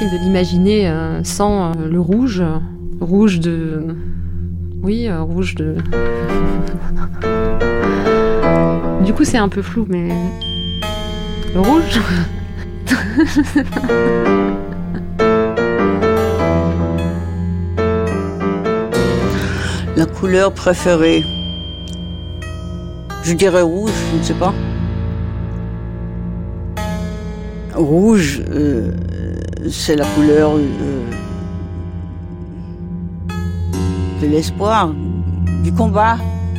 difficile de l'imaginer sans le rouge. Rouge de... Oui, rouge de... Du coup, c'est un peu flou, mais... Le rouge La couleur préférée, je dirais rouge, je ne sais pas. Rouge, c'est la couleur de l'espoir, du combat.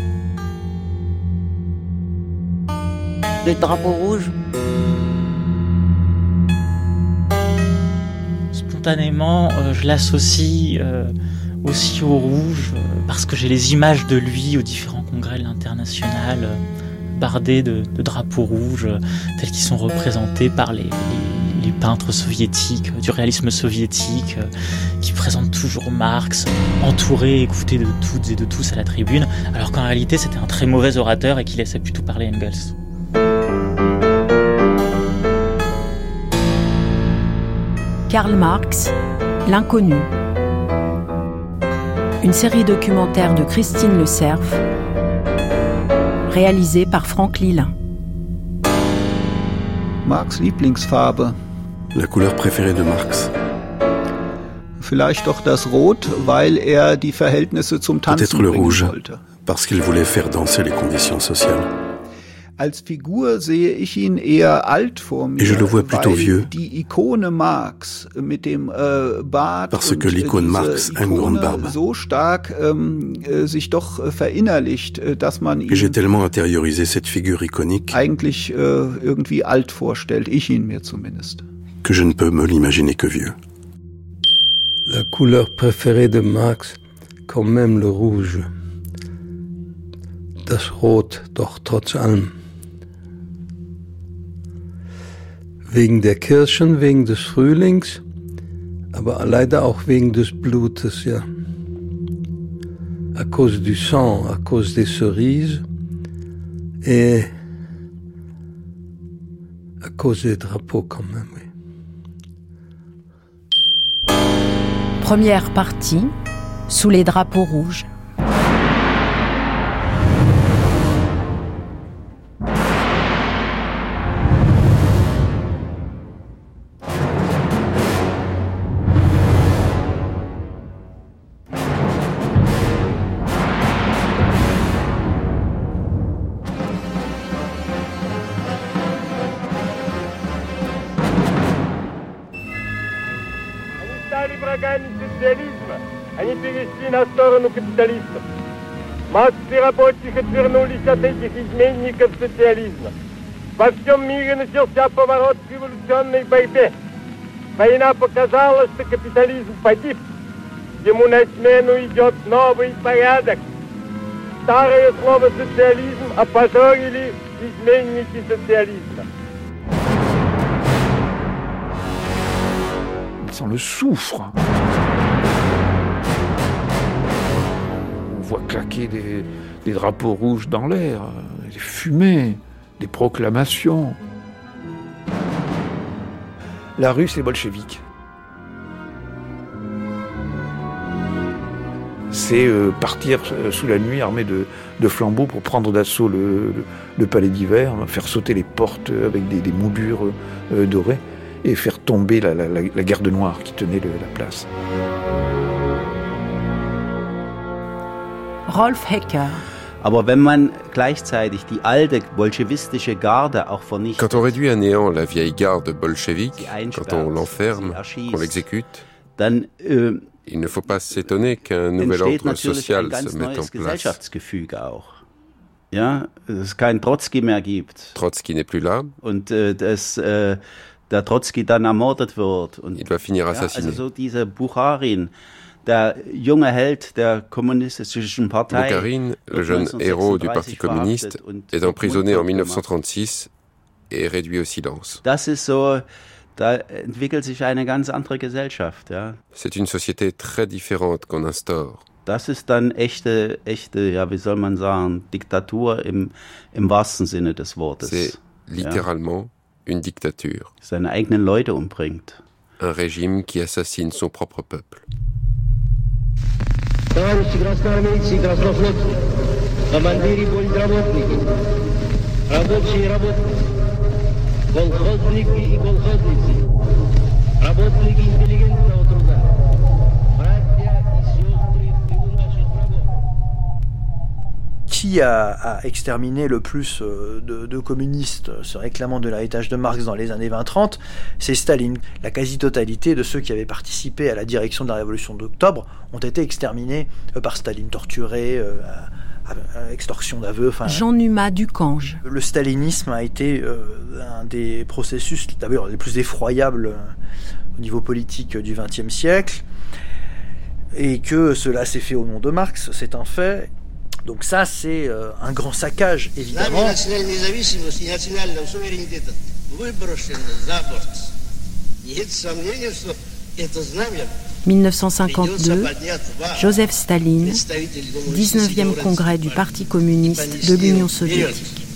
Le drapeau rouge. Spontanément, je l'associe aussi au rouge, parce que j'ai les images de lui aux différents congrès de l'International, bardés de drapeaux rouges, tels qu'ils sont représentés par les peintres soviétiques, du réalisme soviétique, qui présentent toujours Marx, entouré, écouté de toutes et de tous à la tribune, alors qu'en réalité c'était un très mauvais orateur et qui laissait plutôt parler Engels. Karl Marx, L'inconnu. Une série documentaire de Christine Le Cerf, réalisée par Franck Lilin. Marx' Lieblingsfarbe. La couleur préférée de Marx. Vielleicht doch das Rot, weil die Verhältnisse zum Tanzen Peut-être le rouge, wollte. parce qu'il voulait faire danser les conditions sociales. Als Figur sehe ich ihn eher alt vor mir, Et je le vois plutôt vieux, die Ikone Marx mit dem Bart parce que l'icône Marx a une grande barbe. So stark sich doch verinnerlicht, dass man ihn Et j'ai tellement intériorisé cette figure iconique eigentlich irgendwie alt vorstellt, ich ihn mir zumindest. Que je ne peux me l'imaginer que vieux. La couleur préférée de Marx, quand même le rouge. Das Rot, doch trotz allem. Wegen der Kirschen, wegen des Frühlings, aber leider auch wegen des Blutes, ja. À cause du sang, à cause des cerises et à cause des drapeaux quand même, oui. Première partie, sous les drapeaux rouges. Они перешли на сторону капиталистов. Массы рабочих отвернулись от этих изменников социализма. Во всем мире начался поворот к революционной борьбе. Война показала, что капитализм погиб. Ему на смену идет новый порядок. Старое слово «социализм» опозорили изменники социализма. On le souffre. On voit claquer des drapeaux rouges dans l'air, des fumées, des proclamations. La rue, c'est bolchevique. C'est partir sous la nuit armé de flambeaux pour prendre d'assaut le palais d'hiver, faire sauter les portes avec des moulures dorées et faire tomber la garde noire qui tenait la place. Rolf Hecker. Aber wenn man gleichzeitig die alte bolschewistische Garde auch vernichtet, quand on réduit à néant la vieille garde bolchevique, quand on l'enferme, qu'on l'exécute, dann il ne faut pas s'étonner qu'un nouvel ordre social se mette en place. Gesellschaftsgefüge auch. Ja, dass es keinen Trotzki mehr gibt. Trotzki n'est plus là. Und dass der Trotzki dann ermordet wird. Und, il va finir assassiné. Also so diese Bukharin, der junge Held der kommunistischen Partei. Bukharin, le jeune héros du Parti communiste, est emprisonné en 1936 et réduit au silence. Das ist so, da entwickelt sich eine ganz andere Gesellschaft, ja. C'est une société très différente qu'on instaure. Das ist dann echte, ja, wie soll man sagen, Diktatur im wahrsten Sinne des Wortes. C'est littéralement une dictature. Seine eigenen Leute umbringt. un régime qui assassine son propre peuple. Qui a exterminé le plus de communistes se réclamant de l'héritage de Marx dans les années 20-30 ? C'est Staline. La quasi-totalité de ceux qui avaient participé à la direction de la révolution d'octobre ont été exterminés par Staline, torturés, extorsion d'aveux. Jean-Numa Ducange. Le stalinisme a été un des processus d'abord les plus effroyables au niveau politique du XXe siècle, et que cela s'est fait au nom de Marx, c'est un fait. Donc ça, c'est un grand saccage, évidemment. 1952, Joseph Staline, 19e congrès du Parti communiste de l'Union soviétique.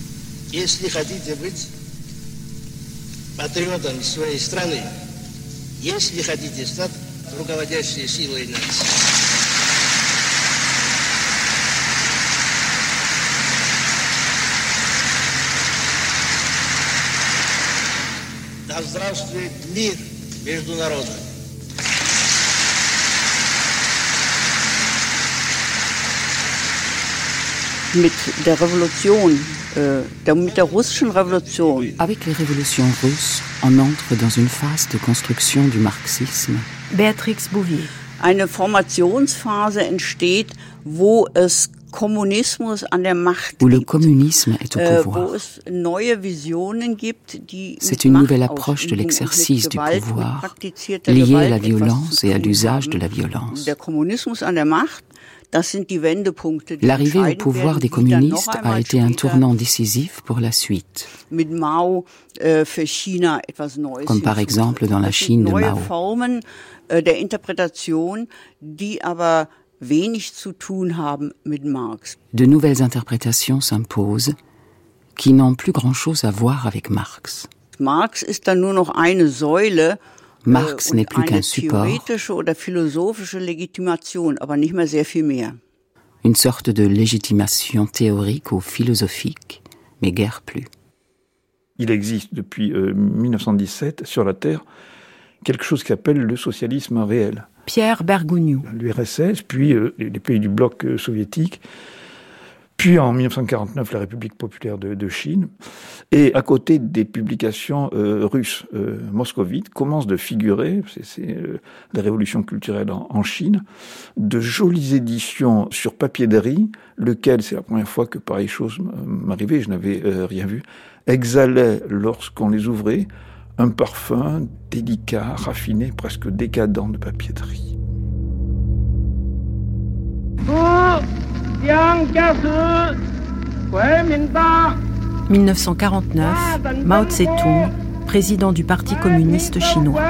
Да здравствует мир между народами. Mit der Revolution, mit der russischen Revolution. Avec les révolutions russes, on entre dans une phase de construction du marxisme. Béatrix Bouvier. Eine Formationsphase entsteht, wo es Kommunismus an der Macht où le communisme est au pouvoir. C'est une nouvelle approche de l'exercice du pouvoir, liée à la violence et à l'usage de la violence. L'arrivée au pouvoir des communistes a été un tournant décisif pour la suite, comme par exemple dans la Chine de Mao. De nouvelles interprétations s'imposent qui n'ont plus grand-chose à voir avec Marx. Marx n'est plus qu'un support, une sorte de légitimation théorique ou philosophique, mais guère plus. Il existe depuis 1917 sur la Terre quelque chose qui s'appelle le socialisme réel. Pierre Bergougnoux. L'URSS, puis les pays du bloc soviétique, puis en 1949 la République populaire de Chine. Et à côté des publications russes moscovites, commencent de figurer, c'est la révolution culturelle en Chine, de jolies éditions sur papier de riz, lequel, c'est la première fois que pareille chose m'arrivait, je n'avais rien vu, exhalait lorsqu'on les ouvrait un parfum délicat, raffiné, presque décadent de papier de riz. 1949, Mao Tse-tung, président du Parti communiste chinois.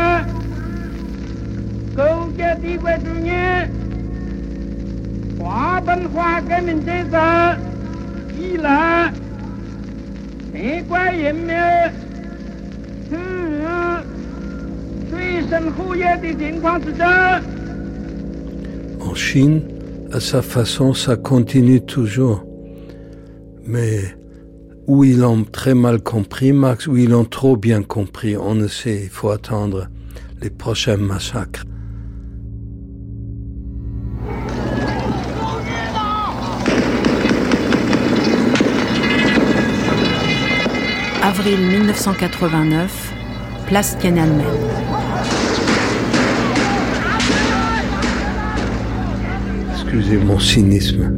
En Chine, à sa façon, ça continue toujours. Mais où ils l'ont très mal compris, Marx, où ils l'ont trop bien compris, on ne sait, il faut attendre les prochains massacres. Avril 1989, place Tiananmen. Excusez mon cynisme.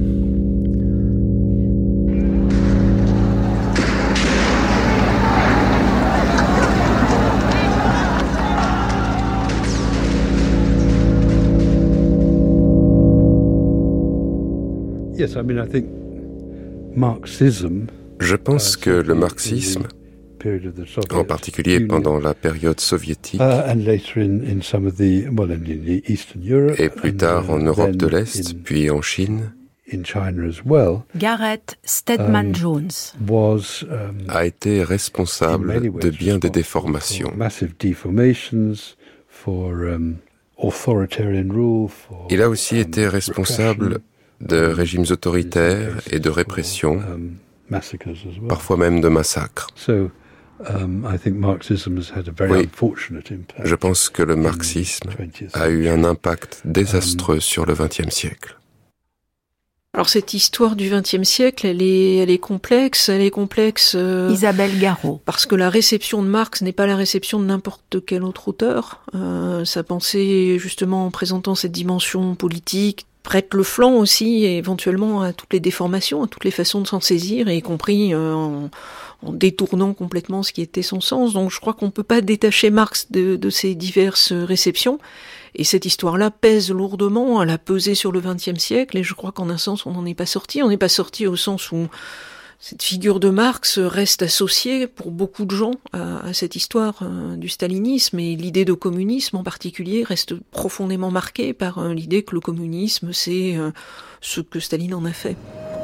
Yes, I mean, I think Marxism. Je pense que le marxisme, en particulier pendant la période soviétique, et plus tard en Europe de l'Est, puis en Chine, Gareth Stedman Jones a été responsable de bien des déformations, Il a aussi été responsable de régimes autoritaires et de répression, parfois même de massacres. Oui, je pense que le marxisme a eu un impact désastreux sur le XXe siècle. Alors cette histoire du XXe siècle, elle est complexe. Isabelle Garot. Parce que la réception de Marx n'est pas la réception de n'importe quel autre auteur. Sa pensée, justement, en présentant cette dimension politique, prête le flanc aussi, éventuellement, à toutes les déformations, à toutes les façons de s'en saisir, y compris en détournant complètement ce qui était son sens. Donc je crois qu'on peut pas détacher Marx de ces diverses réceptions. Et cette histoire-là pèse lourdement, elle a pesé sur le XXe siècle, et je crois qu'en un sens, on n'en est pas sorti. On n'est pas sorti au sens où cette figure de Marx reste associée, pour beaucoup de gens, à cette histoire du stalinisme, et l'idée de communisme en particulier reste profondément marquée par l'idée que le communisme, c'est ce que Staline en a fait.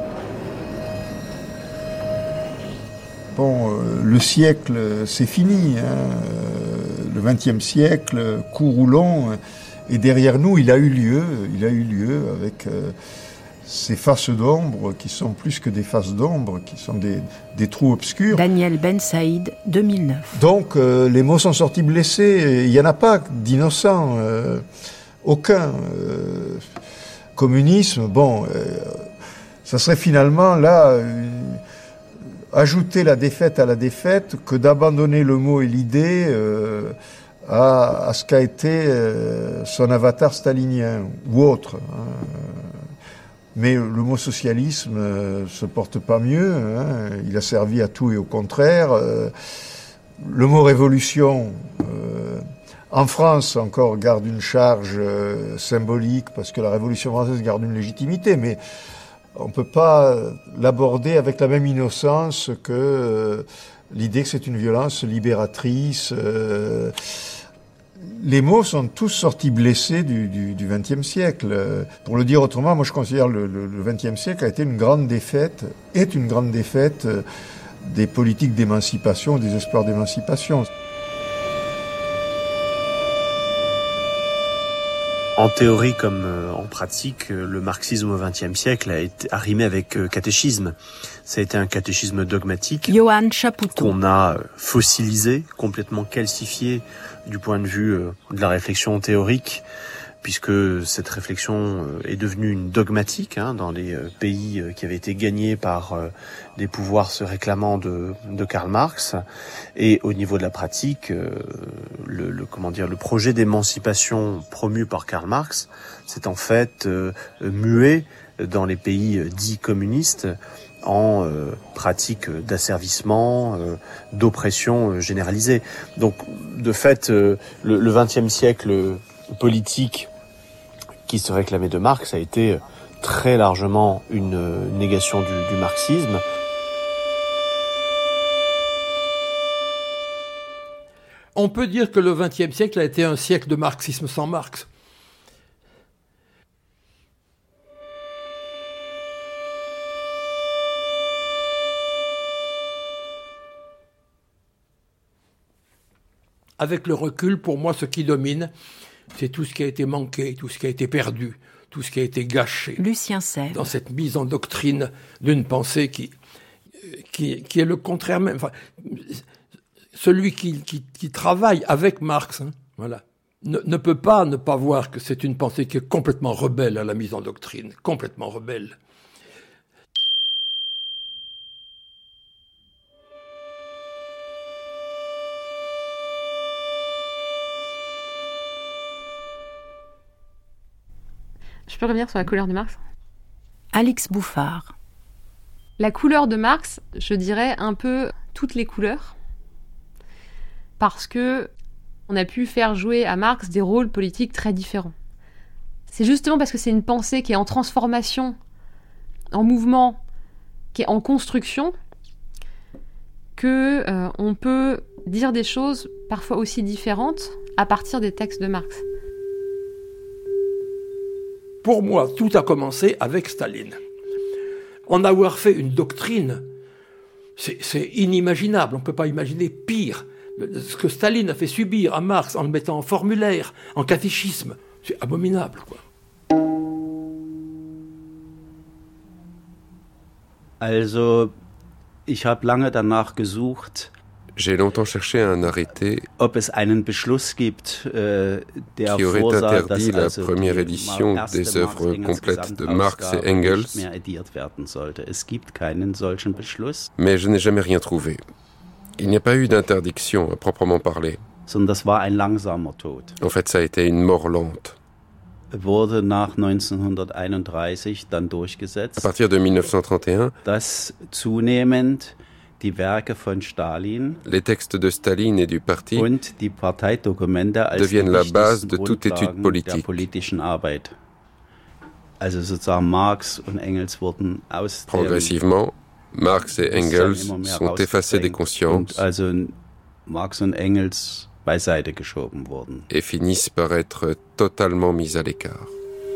Bon, le siècle, c'est fini. Le XXe siècle, court ou long, est derrière nous. Il a eu lieu avec ces faces d'ombre qui sont plus que des faces d'ombre, qui sont des trous obscurs. Daniel Ben Saïd, 2009. Donc, les mots sont sortis blessés. Il n'y en a pas d'innocents. Aucun. Communisme, bon, ça serait finalement là... ajouter la défaite à la défaite que d'abandonner le mot et l'idée à ce qu'a été son avatar stalinien ou autre. Mais le mot socialisme se porte pas mieux. Il a servi à tout et au contraire. Le mot révolution, en France encore, garde une charge symbolique parce que la Révolution française garde une légitimité, mais on ne peut pas l'aborder avec la même innocence que l'idée que c'est une violence libératrice. Les mots sont tous sortis blessés du XXe siècle. Pour le dire autrement, moi je considère le XXe siècle a été une grande défaite des politiques d'émancipation, des espoirs d'émancipation. En théorie comme en pratique, le marxisme au XXe siècle a rimé avec catéchisme. Ça a été un catéchisme dogmatique Johan Chapoutot, qu'on a fossilisé, complètement calcifié du point de vue de la réflexion théorique, puisque cette réflexion est devenue une dogmatique dans les pays qui avaient été gagnés par des pouvoirs se réclamant de Karl Marx. Et au niveau de la pratique, le projet d'émancipation promu par Karl Marx, c'est en fait muet dans les pays dits communistes en pratique d'asservissement, d'oppression généralisée. Donc, de fait, le XXe siècle politique qui se réclamait de Marx a été très largement une négation du marxisme. On peut dire que le XXe siècle a été un siècle de marxisme sans Marx. Avec le recul, pour moi, ce qui domine, c'est tout ce qui a été manqué, tout ce qui a été perdu, tout ce qui a été gâché. Lucien Sèvres. Dans cette mise en doctrine d'une pensée qui est le contraire même. Enfin, celui qui travaille avec Marx, voilà, ne peut pas ne pas voir que c'est une pensée qui est complètement rebelle à la mise en doctrine, complètement rebelle. Je peux revenir sur la couleur de Marx ? Alix Bouffard. La couleur de Marx, je dirais un peu toutes les couleurs, parce que on a pu faire jouer à Marx des rôles politiques très différents. C'est justement parce que c'est une pensée qui est en transformation, en mouvement, qui est en construction, que on peut dire des choses parfois aussi différentes à partir des textes de Marx. Pour moi, tout a commencé avec Staline. En avoir fait une doctrine, c'est inimaginable. On ne peut pas imaginer pire. Ce que Staline a fait subir à Marx en le mettant en formulaire, en catéchisme, c'est abominable, quoi. Also, ich habe lange danach gesucht. J'ai longtemps cherché un arrêté ob es einen Beschluss gibt, der qui aurait interdit la première édition des œuvres complètes de Marx et Engels, es gibt keinen solchen Beschluss. Mais je n'ai jamais rien trouvé. Il n'y a pas eu d'interdiction à proprement parler. Sondern das war ein langsamer Tod. En fait, ça a été une mort lente. Wurde nach 1931 dann durchgesetzt. À partir de 1931, dass zunehmend die Werke von Stalin, les textes de Staline et du parti und die Parteidokumente als deviennent la base de toute étude politique. Der politischen Arbeit. Also sozusagen Marx und Engels wurden aus Progressivement, Marx et Engels sont effacés des consciences also Marx und Engels beiseite geschoben wurden. Et finissent par être totalement mis à l'écart.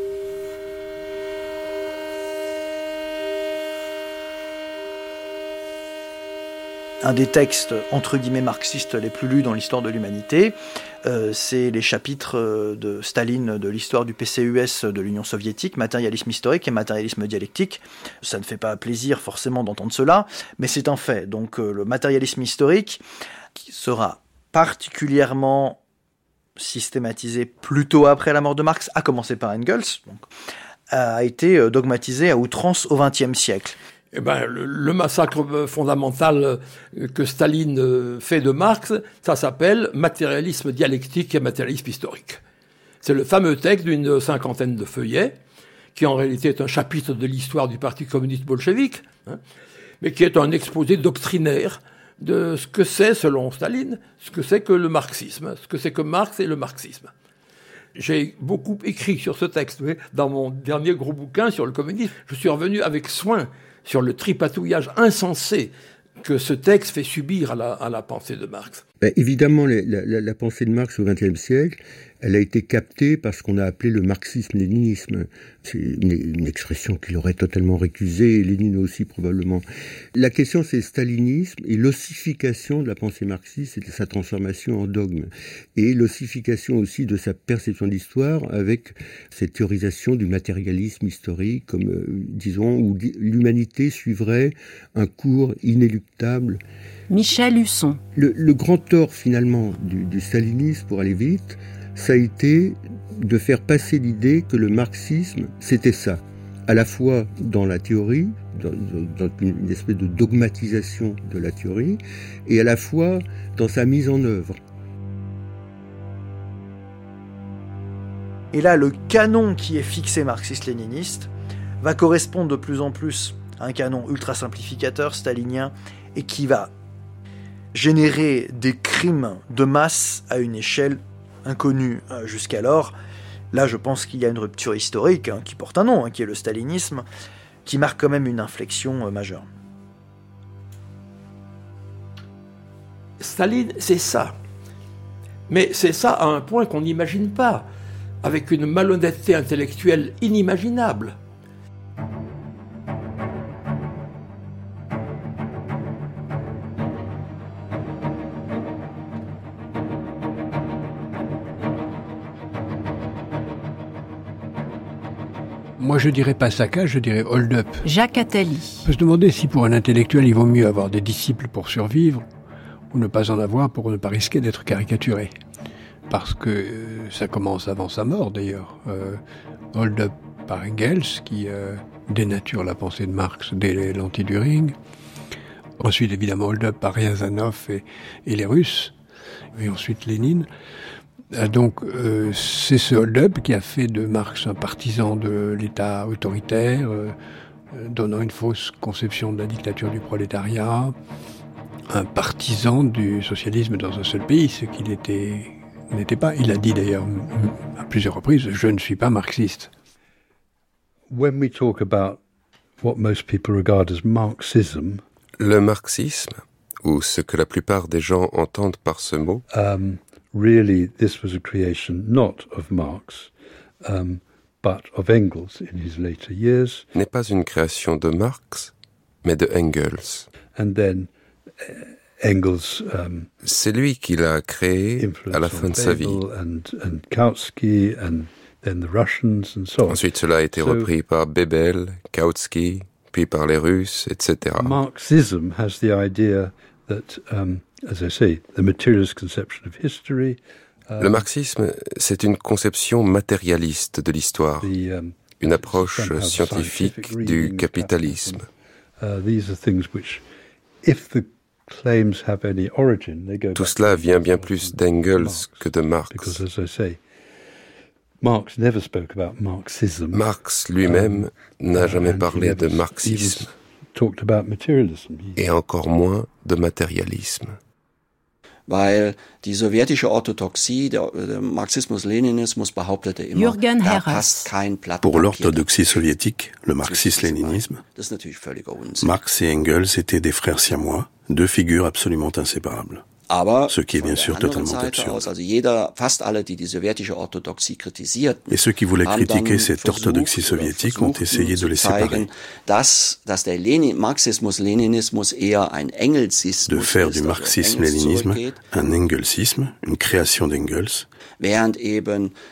Un des textes, entre guillemets, marxistes les plus lus dans l'histoire de l'humanité, c'est les chapitres de Staline de l'histoire du PCUS de l'Union soviétique, matérialisme historique et matérialisme dialectique. Ça ne fait pas plaisir forcément d'entendre cela, mais c'est un fait. Donc le matérialisme historique, qui sera particulièrement systématisé plutôt après la mort de Marx, à commencer par Engels, donc, a été dogmatisé à outrance au XXe siècle. Eh ben, le massacre fondamental que Staline fait de Marx, ça s'appelle matérialisme dialectique et matérialisme historique. C'est le fameux texte d'une 50aine de feuillets, qui en réalité est un chapitre de l'histoire du Parti communiste bolchevique, hein, mais qui est un exposé doctrinaire de ce que c'est, selon Staline, ce que c'est que le marxisme, ce que c'est que Marx et le marxisme. J'ai beaucoup écrit sur ce texte, vous voyez, dans mon dernier gros bouquin sur le communisme. Je suis revenu avec soin sur le tripatouillage insensé que ce texte fait subir à la pensée de Marx. Évidemment, la pensée de Marx au XXe siècle, elle a été captée par ce qu'on a appelé le marxisme-léninisme. C'est une expression qu'il aurait totalement récusée, et Lénine aussi probablement. La question, c'est le stalinisme et l'ossification de la pensée marxiste et de sa transformation en dogme. Et l'ossification aussi de sa perception de l'histoire avec cette théorisation du matérialisme historique, comme, disons, où l'humanité suivrait un cours inéluctable. Michel Husson. Le grand tort, finalement, du stalinisme, pour aller vite, ça a été de faire passer l'idée que le marxisme, c'était ça. À la fois dans la théorie, dans une espèce de dogmatisation de la théorie, et à la fois dans sa mise en œuvre. Et là, le canon qui est fixé marxiste-léniniste va correspondre de plus en plus à un canon ultra simplificateur stalinien et qui va générer des crimes de masse à une échelle inconnue jusqu'alors. Là, je pense qu'il y a une rupture historique qui porte un nom, qui est le stalinisme, qui marque quand même une inflexion majeure. Staline, c'est ça. Mais c'est ça à un point qu'on n'imagine pas, avec une malhonnêteté intellectuelle inimaginable. Moi, je dirais pas saccage, je dirais hold-up. Jacques Attali. On peut se demander si pour un intellectuel, il vaut mieux avoir des disciples pour survivre ou ne pas en avoir pour ne pas risquer d'être caricaturé. Parce que ça commence avant sa mort, d'ailleurs. Hold-up par Engels, qui dénature la pensée de Marx dès l'anti-Düring. Ensuite, évidemment, hold-up par Riazanov et les Russes. Et ensuite, Lénine. Donc, c'est ce hold-up qui a fait de Marx un partisan de l'État autoritaire, donnant une fausse conception de la dictature du prolétariat, un partisan du socialisme dans un seul pays, ce qu'il n'était pas. Il a dit d'ailleurs à plusieurs reprises, je ne suis pas marxiste. When we talk about what most people regard as Marxism, le marxisme, ou ce que la plupart des gens entendent par ce mot, really, this was a creation not of Marx, but of Engels in his later years. N'est pas une création de Marx, mais de Engels. And then Engels, c'est lui qui l'a créé à la fin de sa vie. Ensuite, cela a été repris par Bebel, Kautsky, puis par les Russes, etc. Marxism has the idea that, as I say, the materialist conception of history. Le marxisme, c'est une conception matérialiste de l'histoire, une approche scientifique du capitalisme. Tout cela vient bien plus d'Engels que de Marx. Marx lui-même n'a jamais parlé de marxisme, et encore moins de matérialisme. Weil die sowjetische Orthodoxie, der Marxismus-Leninismus behauptete immer, da passt kein Blatt Pour l'orthodoxie soviétique, le marxisme-léninisme, Marx et Engels étaient des frères siamois, deux figures absolument inséparables. Ce qui est bien sûr totalement absurde. Et ceux qui voulaient critiquer cette orthodoxie soviétique ont essayé de les séparer. De faire du marxisme-léninisme un engelsisme, une création d'Engels, et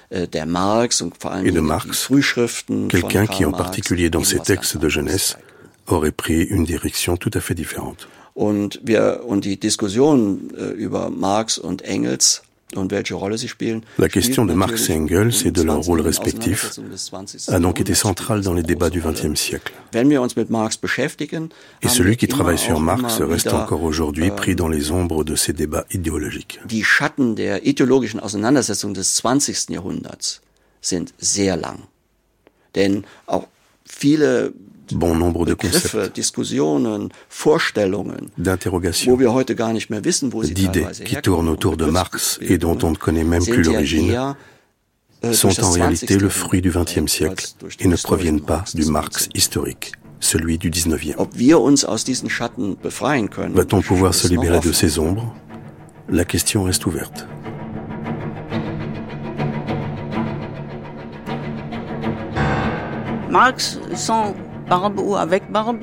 de Marx, quelqu'un qui, en particulier dans ses textes de jeunesse, aurait pris une direction tout à fait différente. Und die Diskussion über Marx und Engels und welche Rolle sie spielen. La question de Marx et Engels et de leur rôle respectif a donc été centrale dans les débats du XXe siècle. Et celui qui travaille sur Marx reste encore aujourd'hui pris dans les ombres de ces débats idéologiques. Die Schatten der ideologischen Auseinandersetzung des 20. Jahrhunderts sind sehr lang. Denn auch viele bon nombre de concepts, d'interrogations, d'idées qui tournent autour de Marx et dont on ne connaît même plus l'origine, sont en réalité le fruit du XXe siècle et ne proviennent pas du Marx historique, celui du XIXe. Va-t-on pouvoir se libérer de ces ombres? La question reste ouverte. Marx sans barbe ou avec barbe.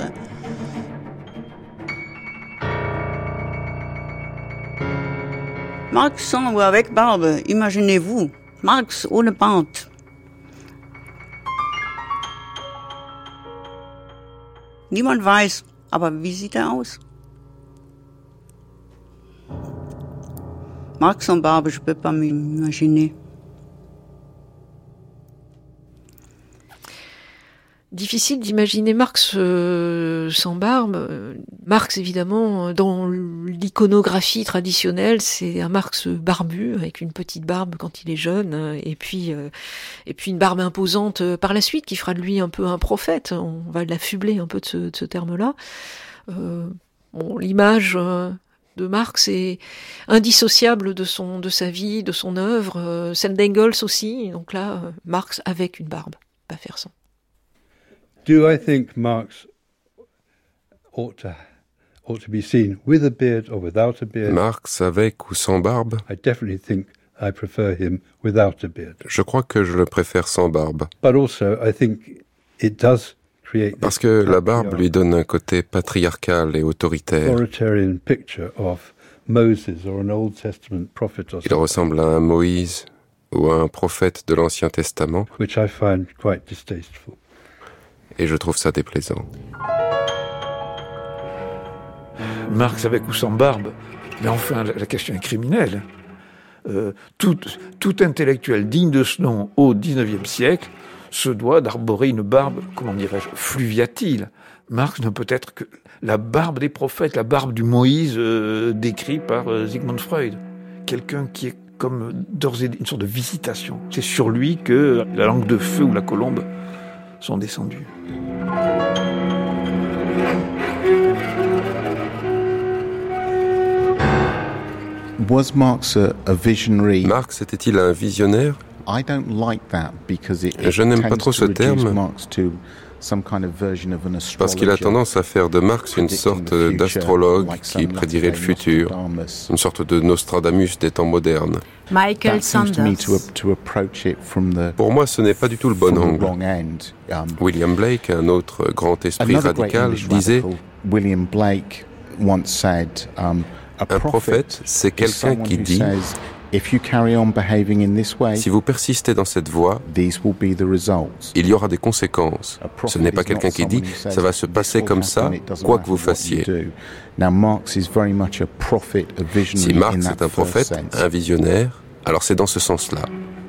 Marx sans ou avec barbe, imaginez-vous. Marx ohne Bart. Niemand weiß, aber wie sieht er aus? Marx sans barbe, je peux pas m'imaginer. Difficile d'imaginer Marx sans barbe. Marx, évidemment, dans l'iconographie traditionnelle, c'est un Marx barbu, avec une petite barbe quand il est jeune, et puis une barbe imposante par la suite, qui fera de lui un peu un prophète. On va l'affubler un peu de ce terme-là. L'image de Marx est indissociable de sa vie, de son œuvre, celle d'Engels aussi. Donc là, Marx avec une barbe, pas faire sans. Do I think Marx ought to be seen with a beard or without a beard? Marx avec ou sans barbe? I definitely think I prefer him without a beard. Je crois que je le préfère sans barbe. But also I think it does create parce que la barbe lui donne un côté patriarcal et autoritaire. Authoritarian picture of Moses or an Old Testament prophet or Il ressemble à un Moïse ou à un prophète de l'Ancien Testament. Which I find quite distasteful. Et je trouve ça déplaisant. Marx avec ou sans barbe, mais enfin la question est criminelle. Tout intellectuel digne de ce nom au XIXe siècle se doit d'arborer une barbe, comment dirais-je, fluviatile. Marx ne peut être que la barbe des prophètes, la barbe du Moïse décrit par Sigmund Freud. Quelqu'un qui est comme d'ores et déjà une sorte de visitation. C'est sur lui que la langue de feu ou la colombe sont descendus. Was Marx a visionary? Marx était-il un visionnaire? I don't like that because Je n'aime pas trop ce terme parce qu'il a tendance à faire de Marx une sorte d'astrologue qui prédirait le futur, une sorte de Nostradamus des temps modernes. Michael Sanders. Pour moi, ce n'est pas du tout le bon angle. William Blake, un autre grand esprit radical, disait William Blake once said, Un prophète, c'est quelqu'un qui dit si vous persistez dans cette voie, il y aura des conséquences. Ce n'est pas quelqu'un qui dit ça va se passer comme ça, quoi que vous fassiez. Si Marx est un prophète, un visionnaire, alors c'est dans ce sens-là.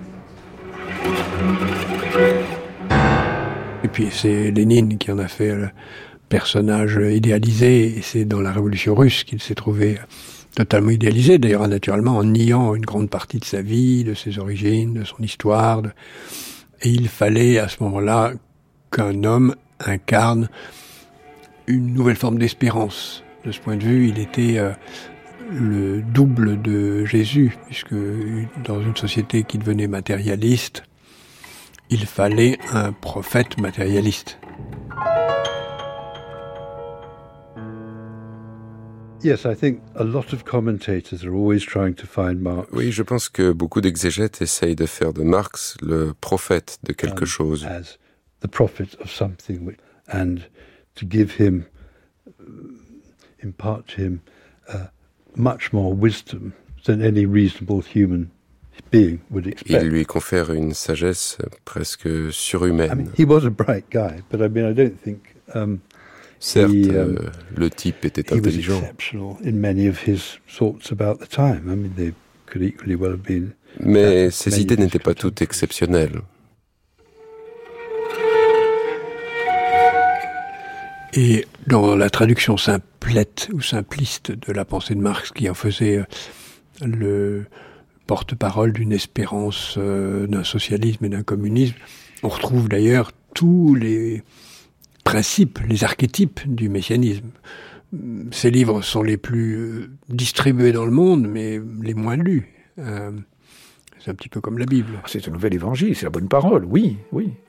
Et puis c'est Lénine qui en a fait le personnage idéalisé, et c'est dans la Révolution russe qu'il s'est trouvé totalement idéalisé, d'ailleurs naturellement en niant une grande partie de sa vie, de ses origines, de son histoire. Et il fallait à ce moment-là qu'un homme incarne une nouvelle forme d'espérance. De ce point de vue, il était le double de Jésus, puisque dans une société qui devenait matérialiste, il fallait un prophète matérialiste. Oui, je pense que beaucoup d'exégètes essayent de faire de Marx le prophète de quelque chose. Il lui confère une sagesse presque surhumaine. Certes, le type était intelligent, mais ses idées n'étaient pas toutes exceptionnelles. Et dans la traduction simplette ou simpliste de la pensée de Marx, qui en faisait le porte-parole d'une espérance d'un socialisme et d'un communisme, on retrouve d'ailleurs tous les principes, les archétypes du messianisme. Ces livres sont les plus distribués dans le monde, mais les moins lus. C'est un petit peu comme la Bible. C'est un nouvel évangile, c'est la bonne parole, oui.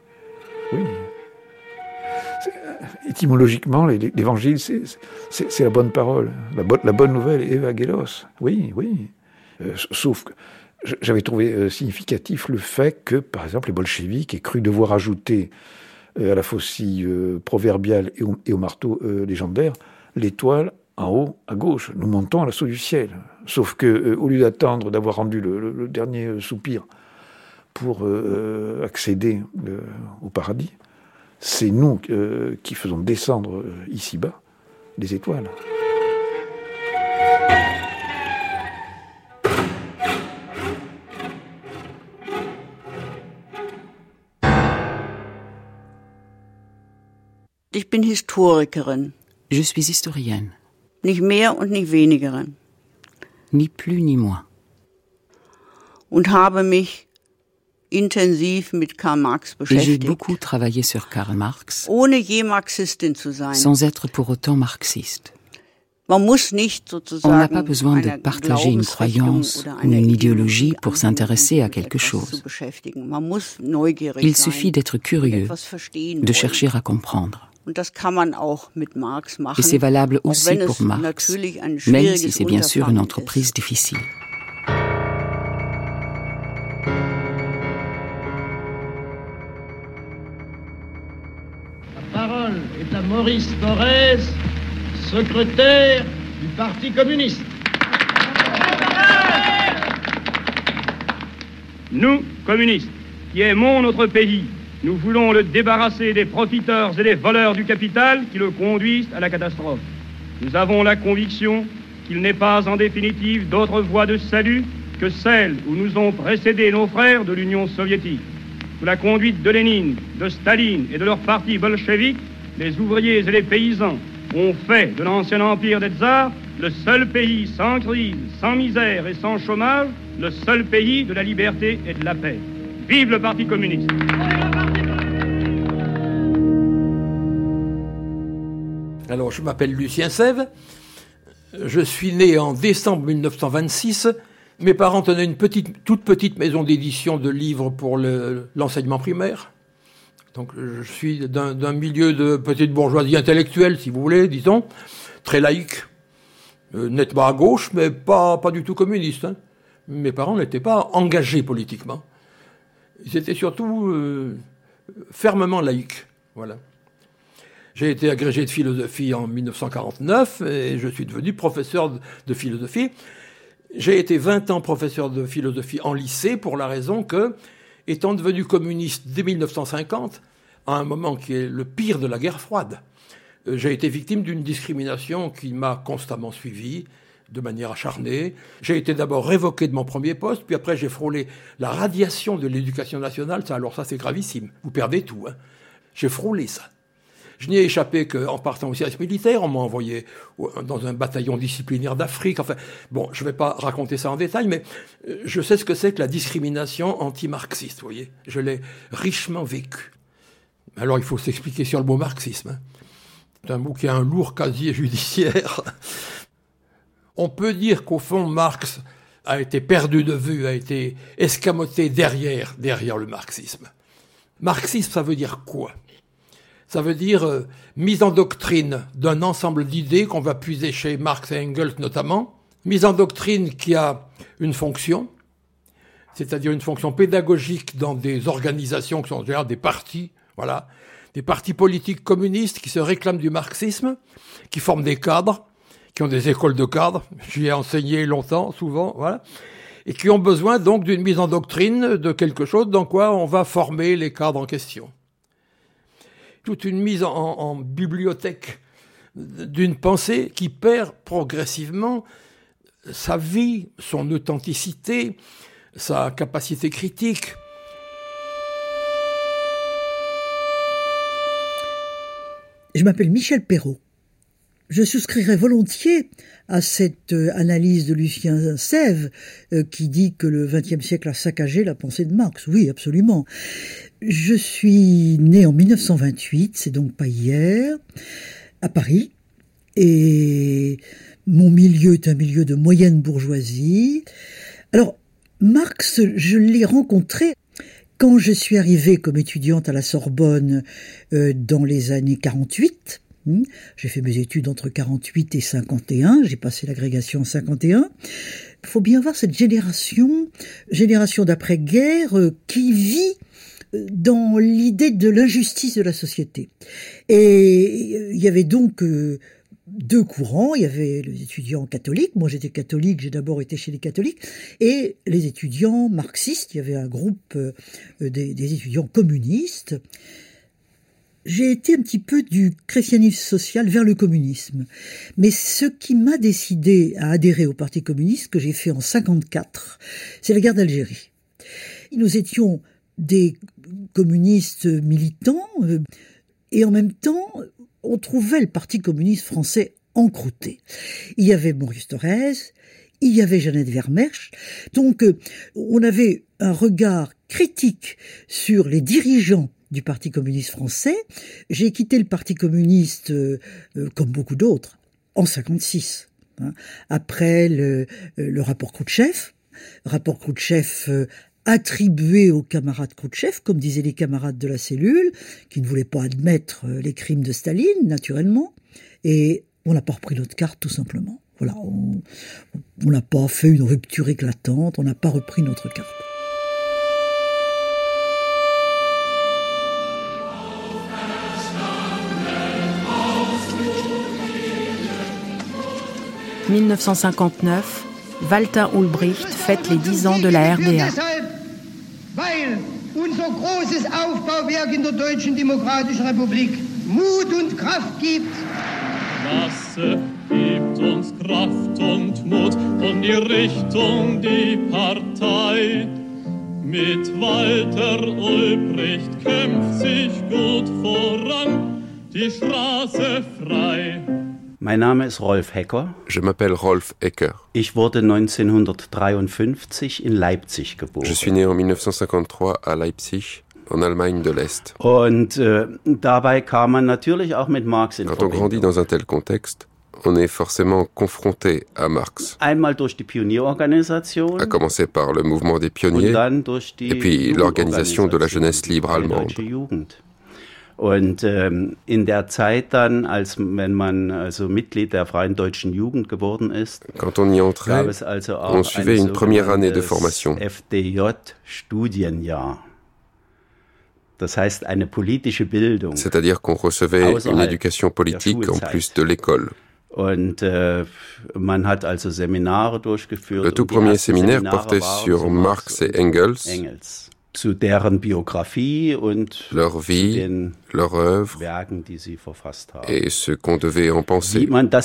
Étymologiquement, l'évangile, c'est la bonne parole. La bonne nouvelle, Evangelos, oui. Sauf que j'avais trouvé significatif le fait que, par exemple, les bolcheviks aient cru devoir ajouter à la faucille proverbiale et au marteau légendaire l'étoile en haut à gauche. Nous montons à l'assaut du ciel. Sauf que, au lieu d'attendre d'avoir rendu le dernier soupir pour accéder au paradis, c'est nous qui faisons descendre ici-bas les étoiles. Ich bin Historikerin. Je suis historienne. Nicht mehr und nicht weniger. Ni plus ni moins. Und habe mich intensiv mit Karl Marx beschäftigt. Et j'ai beaucoup travaillé sur Karl Marx, ohne je Marxistin zu sein. Sans être pour autant marxiste. Man muss nicht sozusagen On n'a pas besoin de partager une croyance ou une idéologie pour s'intéresser à quelque chose. Il suffit d'être curieux, de chercher à comprendre. Et c'est valable aussi pour Marx, même si c'est bien sûr une entreprise difficile. La parole est à Maurice Thorez, secrétaire du Parti communiste. Nous, communistes, qui aimons notre pays, nous voulons le débarrasser des profiteurs et des voleurs du capital qui le conduisent à la catastrophe. Nous avons la conviction qu'il n'est pas en définitive d'autre voie de salut que celle où nous ont précédé nos frères de l'Union soviétique. Sous la conduite de Lénine, de Staline et de leur parti bolchevique, les ouvriers et les paysans ont fait de l'ancien empire des tsars le seul pays sans crise, sans misère et sans chômage, le seul pays de la liberté et de la paix. Vive le Parti communiste! Alors, je m'appelle Lucien Sève. Je suis né en décembre 1926. Mes parents tenaient une toute petite maison d'édition de livres pour l'enseignement primaire. Donc, je suis d'un milieu de petite bourgeoisie intellectuelle, si vous voulez, disons, très laïque, nettement à gauche, mais pas du tout communiste. Hein. Mes parents n'étaient pas engagés politiquement. Ils étaient surtout fermement laïques. Voilà. J'ai été agrégé de philosophie en 1949 et je suis devenu professeur de philosophie. J'ai été 20 ans professeur de philosophie en lycée pour la raison que, étant devenu communiste dès 1950, à un moment qui est le pire de la guerre froide, j'ai été victime d'une discrimination qui m'a constamment suivi de manière acharnée. J'ai été d'abord révoqué de mon premier poste, puis après j'ai frôlé la radiation de l'éducation nationale. Alors ça c'est gravissime, vous perdez tout. J'ai frôlé ça. Je n'y ai échappé qu'en partant au service militaire. On m'a envoyé dans un bataillon disciplinaire d'Afrique. Enfin, bon, je ne vais pas raconter ça en détail, mais je sais ce que c'est que la discrimination anti-marxiste, vous voyez. Je l'ai richement vécu. Alors, il faut s'expliquer sur le mot marxisme. C'est un mot qui a un lourd casier judiciaire. On peut dire qu'au fond, Marx a été perdu de vue, a été escamoté derrière le marxisme. Marxisme, ça veut dire quoi ? Ça veut dire mise en doctrine d'un ensemble d'idées qu'on va puiser chez Marx et Engels notamment, mise en doctrine qui a une fonction, c'est-à-dire une fonction pédagogique dans des organisations qui sont en général des partis, voilà, des partis politiques communistes qui se réclament du marxisme, qui forment des cadres, qui ont des écoles de cadres, j'y ai enseigné longtemps, souvent, voilà, et qui ont besoin donc d'une mise en doctrine de quelque chose dans quoi on va former les cadres en question. Toute une mise en bibliothèque d'une pensée qui perd progressivement sa vie, son authenticité, sa capacité critique. Je m'appelle Michel Perrault. Je souscrirais volontiers à cette analyse de Lucien Sève qui dit que le XXe siècle a saccagé la pensée de Marx. Oui, absolument. Je suis né en 1928, c'est donc pas hier, à Paris, et mon milieu est un milieu de moyenne bourgeoisie. Alors, Marx, je l'ai rencontré quand je suis arrivée comme étudiante à la Sorbonne dans les années 48. J'ai fait mes études entre 48 et 51, j'ai passé l'agrégation en 51. Il faut bien voir cette génération d'après-guerre qui vit dans l'idée de l'injustice de la société. Et il y avait donc deux courants. Il y avait les étudiants catholiques. Moi, j'étais catholique. J'ai d'abord été chez les catholiques. Et les étudiants marxistes. Il y avait un groupe des étudiants communistes. J'ai été un petit peu du christianisme social vers le communisme. Mais ce qui m'a décidé à adhérer au Parti communiste, que j'ai fait en 54, c'est la guerre d'Algérie. Nous étions des communistes militants, et en même temps, on trouvait le Parti communiste français encrouté. Il y avait Maurice Thorez, il y avait Jeannette Vermersch, donc on avait un regard critique sur les dirigeants du Parti communiste français. J'ai quitté le Parti communiste, comme beaucoup d'autres, en 56, après le rapport Khrouchtchev. Rapport Khrouchtchev attribué aux camarades Khrouchtchev, comme disaient les camarades de la cellule, qui ne voulaient pas admettre les crimes de Staline, naturellement, et on n'a pas repris notre carte, tout simplement. Voilà, on n'a pas fait une rupture éclatante, on n'a pas repris notre carte. « 1959, Walter Ulbricht fête les 10 ans de la RDA. Weil unser großes Aufbauwerk in der Deutschen Demokratischen Republik Mut und Kraft gibt. Masse gibt uns Kraft und Mut und die Richtung, die Partei. Mit Walter Ulbricht kämpft sich gut voran, die Straße frei. Mein Name ist Rolf Hecker. Je m'appelle Rolf Hecker. Ich wurde 1953 in Leipzig geboren. Je suis né en 1953 à Leipzig, en Allemagne de l'Est. Und dabei kam man natürlich auch mit Marx in Verbindung. Quand on grandit dans un tel contexte, on est forcément confronté à Marx. Einmal durch die Pionierorganisation. À commencer par le mouvement des pionniers, und dann durch die et puis l'organisation de la jeunesse libre allemande. Und in der Zeit dann, wenn man also Mitglied der Freien Deutschen Jugend geworden ist, quand on y entrait, gab es also auch on suivait une première année de formation. FDJ-Studienjahr. C'est-à-dire qu'on recevait une éducation politique en plus de l'école. Le tout premier séminaire portait sur Marx et Engels, leur vie, leur œuvre et ce qu'on devait en penser.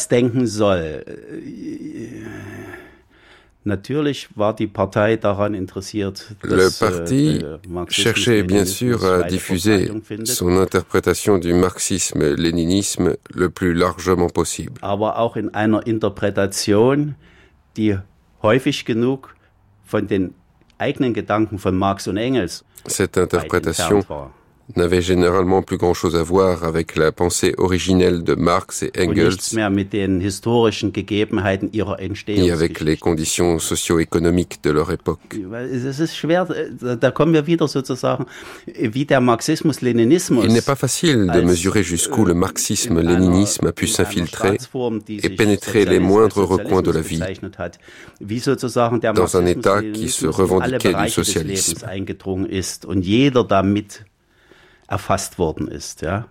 Le parti cherchait bien sûr à diffuser son interprétation du marxisme-léninisme le plus largement possible. Cette interprétation n'avait généralement plus grand-chose à voir avec la pensée originelle de Marx et Engels, ni avec les conditions socio-économiques de leur époque. Il n'est pas facile de mesurer jusqu'où le marxisme-léninisme a pu s'infiltrer et pénétrer les moindres recoins de la vie dans un État qui se revendiquait du socialisme. Erfasst worden ist, ja.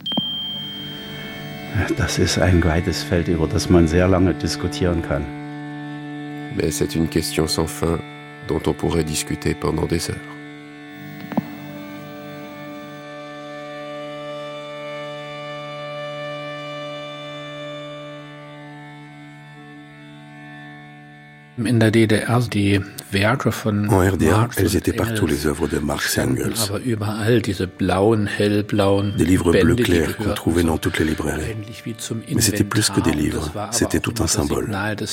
Das ist ein weites Feld, über das man sehr lange diskutieren kann. Mais c'est une question sans fin dont on pourrait discuter pendant des heures. En RDA, elles étaient partout les œuvres de Marx et Engels. Des livres bleu clair qu'on trouvait dans toutes les librairies. Mais c'était plus que des livres, c'était tout un symbole.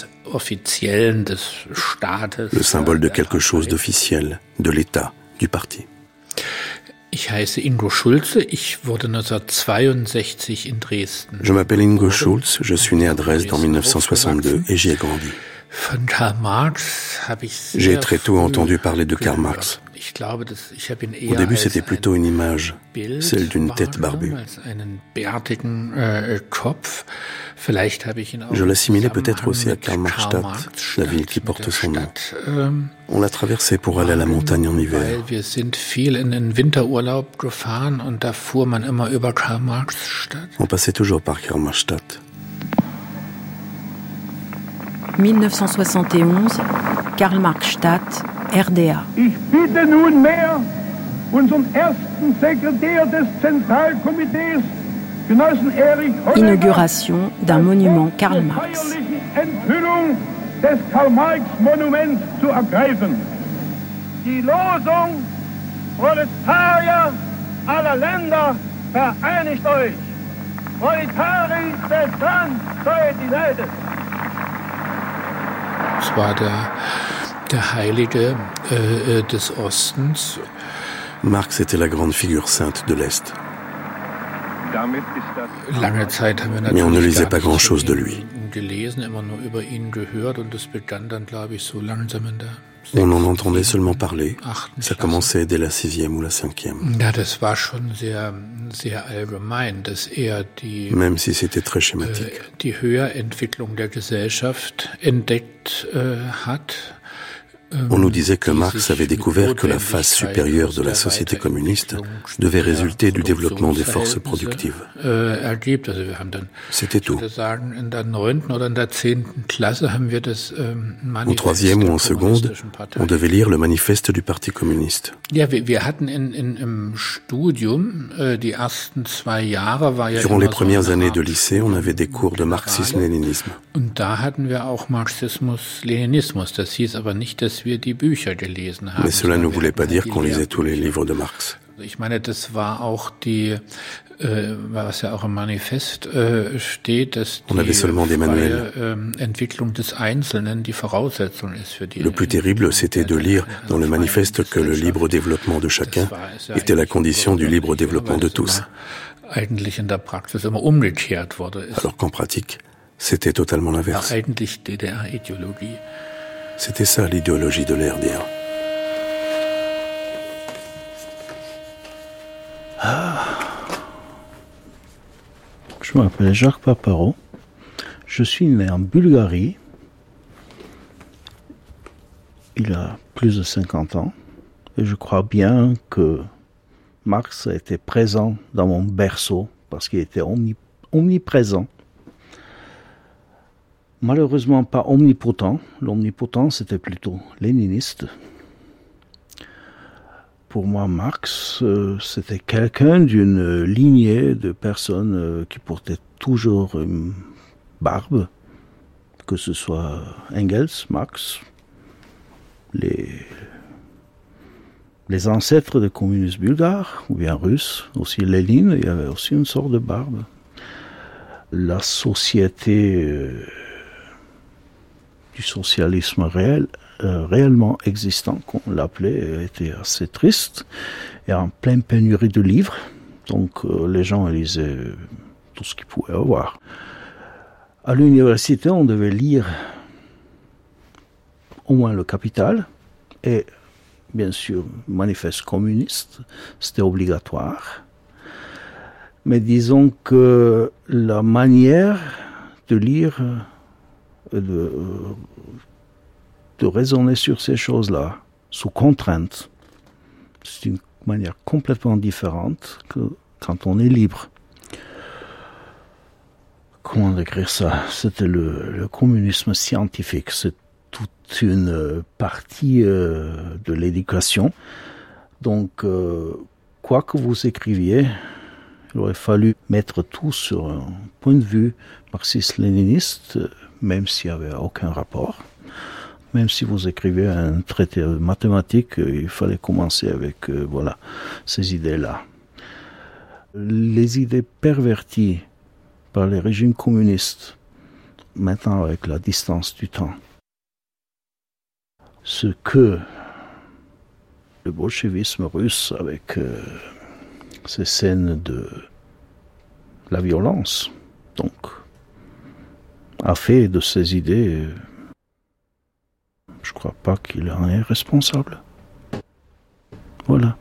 Le symbole de quelque chose d'officiel, de l'État, du parti. Je m'appelle Ingo Schulz, je suis né à Dresde en 1962 et j'y ai grandi. J'ai très tôt entendu parler de Karl Marx. Au début, c'était plutôt une image, celle d'une tête barbue. Je l'assimilais peut-être aussi à Karl Marxstadt, la ville qui porte son nom. On l'a traversé pour aller à la montagne en hiver. On passait toujours par Karl Marxstadt. 1971, Karl Marxstadt, RDA. Ich bitte nunmehr unseren ersten Sekretär des Zentralkomitees, Genossen Erich Honecker, Inauguration d'un monument Karl Marx. Enthüllung des Karl-Marx-Monuments zu ergreifen. Die Losung Proletarier aller Länder, vereinigt euch. Proletarier des Landes, United. Es war der Heilige des Ostens. Marx était la grande figure sainte de l'Est. Mais on ne lisait pas grand-chose de lui. On en entendait seulement parler. Ça commençait dès la 6e ou la 5e. Même si c'était très schématique. On nous disait que Marx avait découvert que la phase supérieure de la société communiste devait résulter du développement des forces productives. C'était tout. En 3e ou en seconde, on devait lire le manifeste du Parti communiste. Durant les premières années de lycée, on avait des cours de marxisme-léninisme. Mais cela ne voulait pas dire qu'on lisait tous les livres de Marx. On avait seulement des manuels. Le plus terrible, c'était de lire dans le manifeste que le libre développement de chacun était la condition du libre développement de tous. Alors qu'en pratique, c'était totalement l'inverse. C'était ça l'idéologie de l'RDA. Je m'appelle Jacques Paparo. Je suis né en Bulgarie. Il a plus de 50 ans. Et je crois bien que Marx a été présent dans mon berceau parce qu'il était omniprésent. Malheureusement pas omnipotent. L'omnipotent, c'était plutôt léniniste. Pour moi, Marx, c'était quelqu'un d'une lignée de personnes qui portaient toujours une barbe, que ce soit Engels, Marx, les ancêtres des communistes bulgares, ou bien russes, aussi Lénine, il y avait aussi une sorte de barbe. La société du socialisme réellement existant, qu'on l'appelait, était assez triste et en pleine pénurie de livres. Donc les gens lisaient tout ce qu'ils pouvaient avoir. À l'université, on devait lire au moins le Capital et bien sûr le manifeste communiste, c'était obligatoire. Mais disons que la manière de lire, de raisonner sur ces choses-là, sous contrainte, c'est une manière complètement différente que quand on est libre. Comment décrire ça? C'était le communisme scientifique, c'est toute une partie de l'éducation. Donc, quoi que vous écriviez, il aurait fallu mettre tout sur un point de vue marxiste-léniniste, même s'il n'y avait aucun rapport. Même si vous écrivez un traité mathématique, il fallait commencer avec ces idées-là. Les idées perverties par les régimes communistes, maintenant avec la distance du temps, ce que le bolchevisme russe, avec ces scènes de la violence, donc, a fait de ces idées, je ne crois pas qu'il en est responsable. Voilà.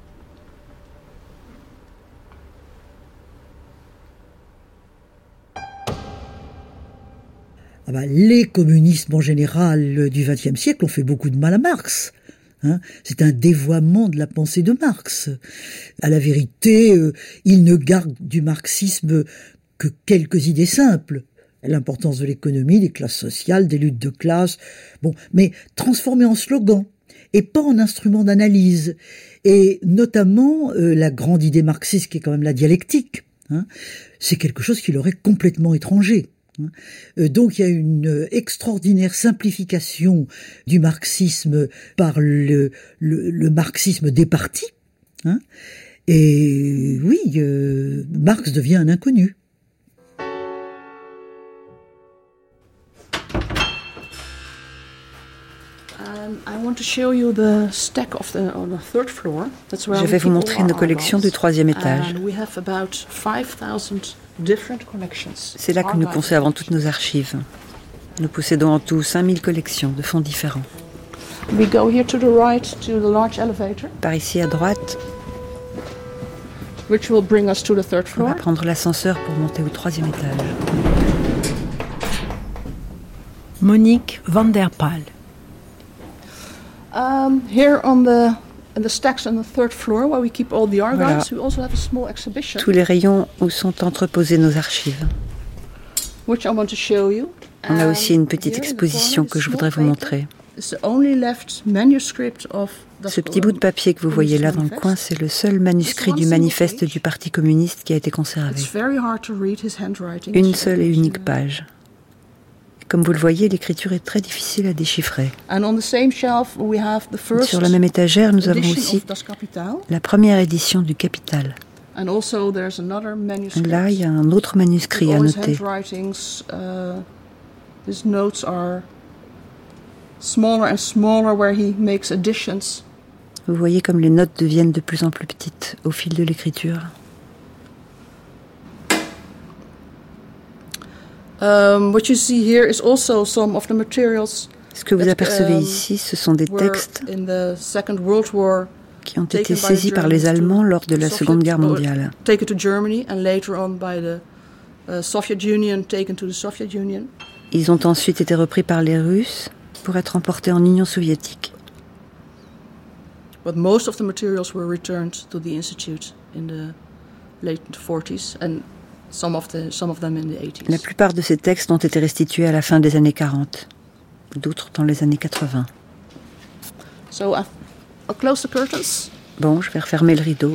Les communistes en général du XXe siècle ont fait beaucoup de mal à Marx. C'est un dévoiement de la pensée de Marx. À la vérité, il ne garde du marxisme que quelques idées simples. L'importance de l'économie, des classes sociales, des luttes de classe, mais transformées en slogan et pas en instrument d'analyse. Et notamment, la grande idée marxiste qui est quand même la dialectique, c'est quelque chose qui leur est complètement étranger. Donc il y a une extraordinaire simplification du marxisme par le marxisme des partis. Et oui, Marx devient un inconnu. Je vais vous montrer nos collections du troisième étage. C'est là que nous conservons toutes nos archives. Nous possédons en tout 5000 collections de fonds différents. Par ici à droite, on va prendre l'ascenseur pour monter au troisième étage. Monique van der Paal. Voilà. Tous les rayons où sont entreposées nos archives. On a aussi une petite exposition que je voudrais vous montrer. Ce petit bout de papier que vous voyez là dans le coin, c'est le seul manuscrit du manifeste du Parti communiste qui a été conservé. Une seule et unique page. Comme vous le voyez, l'écriture est très difficile à déchiffrer. Sur la même étagère, nous avons aussi la première édition du Capital. Là, il y a un autre manuscrit à noter. Vous voyez comme les notes deviennent de plus en plus petites au fil de l'écriture. Ce que vous apercevez ici, ce sont des textes qui ont été saisis par les Allemands lors de la Seconde Guerre mondiale. Ils ont ensuite été repris par les Russes pour être emportés en Union soviétique. La plupart de ces textes ont été restitués à la fin des années 40, d'autres dans les années 80. Bon, je vais refermer le rideau.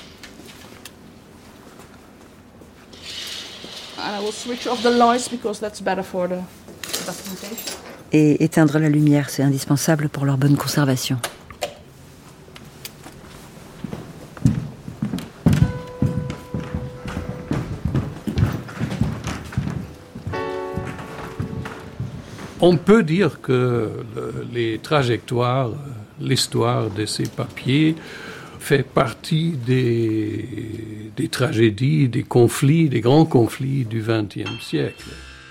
Et éteindre la lumière, c'est indispensable pour leur bonne conservation. On peut dire que les trajectoires, l'histoire de ces papiers fait partie des tragédies, des conflits, des grands conflits du XXe siècle.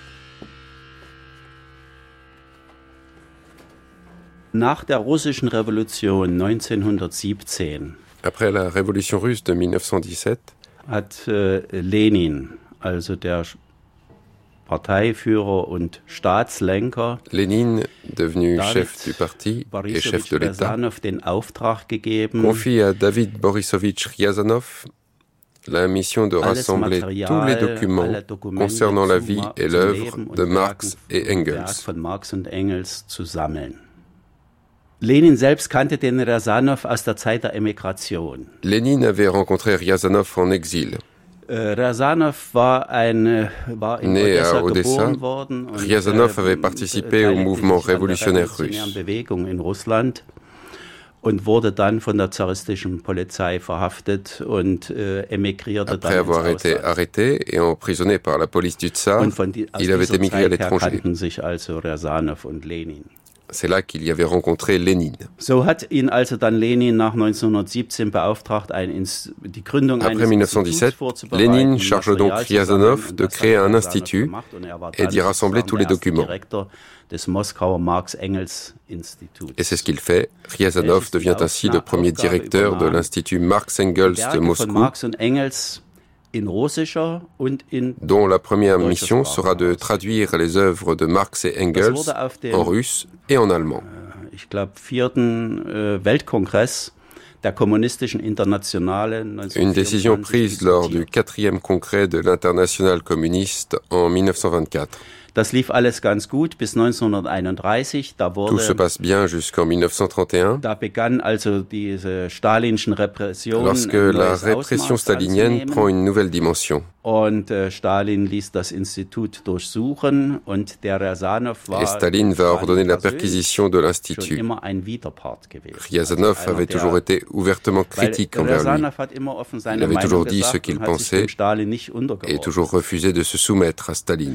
Nach der russischen Revolution 1917 Après la révolution russe de 1917 hat Lenin, also der Parteiführer und Staatslenker, Lénine, devenu chef du parti et chef de l'État, confie à David Borisovitch Ryazanov la mission de rassembler tous les documents concernant la vie et l'œuvre de Marx et Engels. Lenin selbst kannte den Ryazanov aus der Zeit der Emigration. Lénine avait rencontré Ryazanov en exil. Ryazanov war in Né Odessa à Odessa, geboren worden und Ryazanov avait participé au mouvement révolutionnaire russe. Bewegung in Russland und wurde dann von der zaristischen Polizei verhaftet und emigrierte Après avoir été arrêté et emprisonné par la police du Tsar, il avait émigré à l'étranger. Kannten sich also Ryazanov und Lenin. C'est là qu'il y avait rencontré Lénine. So hat ihn also dann Lenin nach 1917 beauftragt, die Gründung Après 1917, Lénine charge donc Ryazanov de créer un institut et d'y rassembler tous les documents. Et c'est ce qu'il fait. Ryazanov devient ainsi le premier directeur de l'Institut Marx-Engels de Moscou, dont la première mission sera de traduire les œuvres de Marx et Engels en russe et en allemand. Ich glaube, 4. Weltkongress der Kommunistischen Internationale. Une décision prise lors du 4e congrès de l'Internationale communiste en 1924. Das lief alles ganz gut bis 1931. Tout se passe bien jusqu'en 1931. Da begann also diese stalinschen Repression. Lorsque la répression stalinienne prend une nouvelle dimension. Und Stalin ließ das Institut durchsuchen und der Ryazanov war. Et Staline va ordonner la perquisition de l'institut. Ryazanov avait toujours été ouvertement critique envers lui. Il avait toujours dit ce qu'il pensait et toujours refusé de se soumettre à Staline.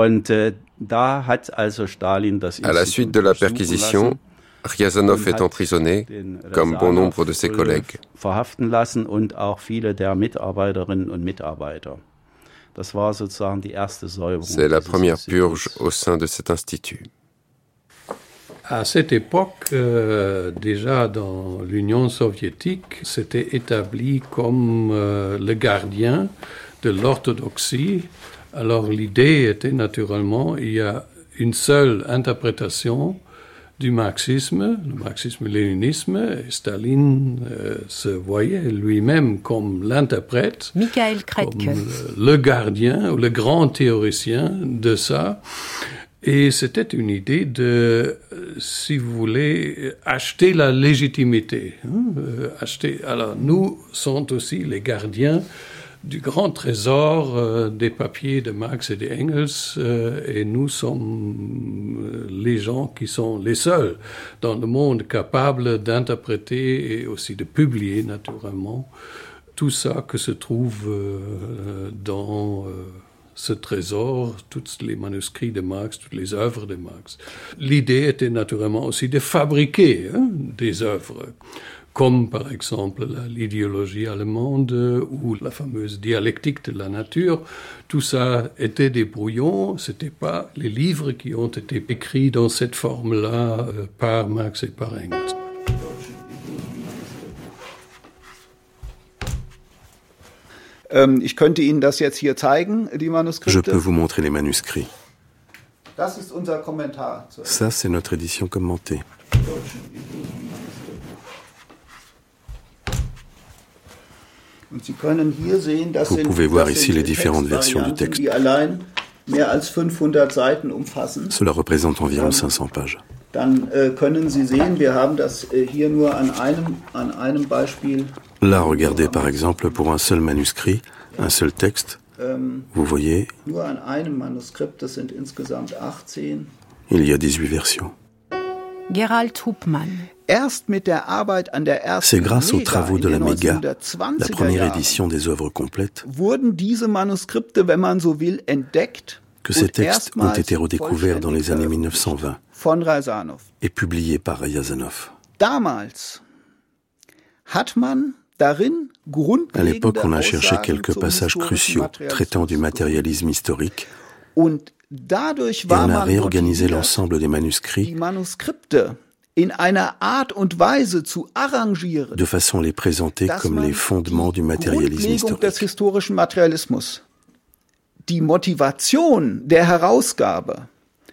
À la suite de la perquisition, Ryazanov est emprisonné, comme bon nombre de ses collègues. Verhaften lassen und auch viele der Mitarbeiterinnen und Mitarbeiter. Das war sozusagen die erste Säuberung. C'est la première purge au sein de cet institut. À cette époque, déjà dans l'Union soviétique, c'était établi comme le gardien de l'orthodoxie. Alors l'idée était naturellement, il y a une seule interprétation du marxisme, le marxisme-léninisme, et Staline se voyait lui-même comme l'interprète, comme le gardien ou le grand théoricien de ça. Et c'était une idée de, si vous voulez, acheter la légitimité. Alors nous sommes aussi les gardiens du grand trésor des papiers de Marx et d'Engels, et nous sommes les gens qui sont les seuls dans le monde capables d'interpréter et aussi de publier naturellement tout ça que se trouve dans ce trésor, tous les manuscrits de Marx, toutes les œuvres de Marx. L'idée était naturellement aussi de fabriquer des œuvres, comme par exemple l'idéologie allemande ou la fameuse dialectique de la nature. Tout ça était des brouillons, c'était pas les livres qui ont été écrits dans cette forme-là par Marx et par Engels. Ich könnte Ihnen das jetzt hier zeigen, die Manuskripte. Je peux vous montrer les manuscrits. Das ist unser Kommentar. Ça, c'est notre édition commentée. Vous pouvez voir ici les différentes versions du texte. Cela représente environ 500 pages. Là, regardez par exemple pour un seul manuscrit, un seul texte. Vous voyez, il y a 18 versions. Gerald Hupmann. C'est grâce aux travaux de la Méga, la première édition des œuvres complètes, que ces textes ont été redécouverts dans les années 1920 et publiés par Riazanov. À l'époque, on a cherché quelques passages cruciaux traitant du matérialisme historique et on a réorganisé l'ensemble des manuscrits de façon à les présenter comme les fondements du matérialisme historique. Die Motivation der Herausgabe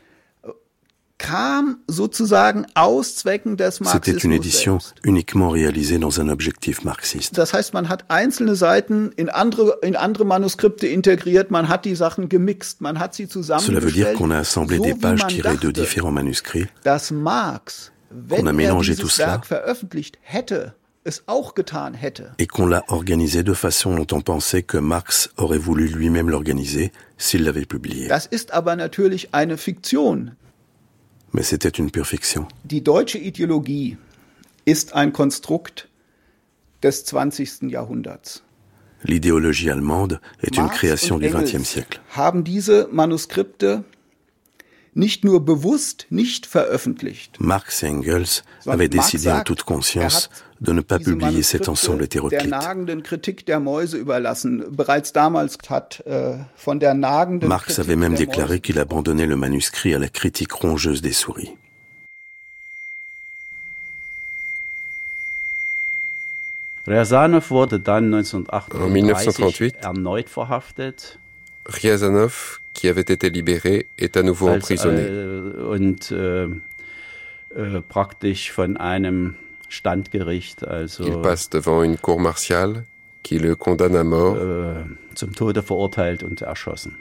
kam sozusagen aus Zwecken des Marxismus. C'était une édition uniquement réalisée dans un objectif marxiste. Das heißt, man hat einzelne Seiten in andere Manuskripte integriert, man hat die Sachen gemixt, man hat sie zusammengestellt. Cela veut dire qu'on a assemblé des pages tirées de différents manuscrits. On a mélangé tout cela. Et qu'on l'a organisé de façon dont on pensait que Marx aurait voulu lui-même l'organiser s'il l'avait publié. Das ist aber natürlich eine Fiktion. Mais c'était une pure fiction. Die deutsche Ideologie ist ein Konstrukt des 20. Jahrhunderts. L'idéologie allemande est une création du XXe siècle. Haben diese Manuskripte nicht nur bewusst nicht veröffentlicht. Marx et Engels avaient décidé en toute conscience de ne pas publier cet ensemble hétéroclite. Marx avait même déclaré qu'il abandonnait le manuscrit à la critique rongeuse des souris. Riazanov wurde dann en 1938 erneut verhaftet. Riazanov, qui avait été libéré, est à nouveau emprisonné. Praktisch von einem Standgericht, also il passe devant une cour martiale qui le condamne à mort. Zum Tode verurteilt und erschossen.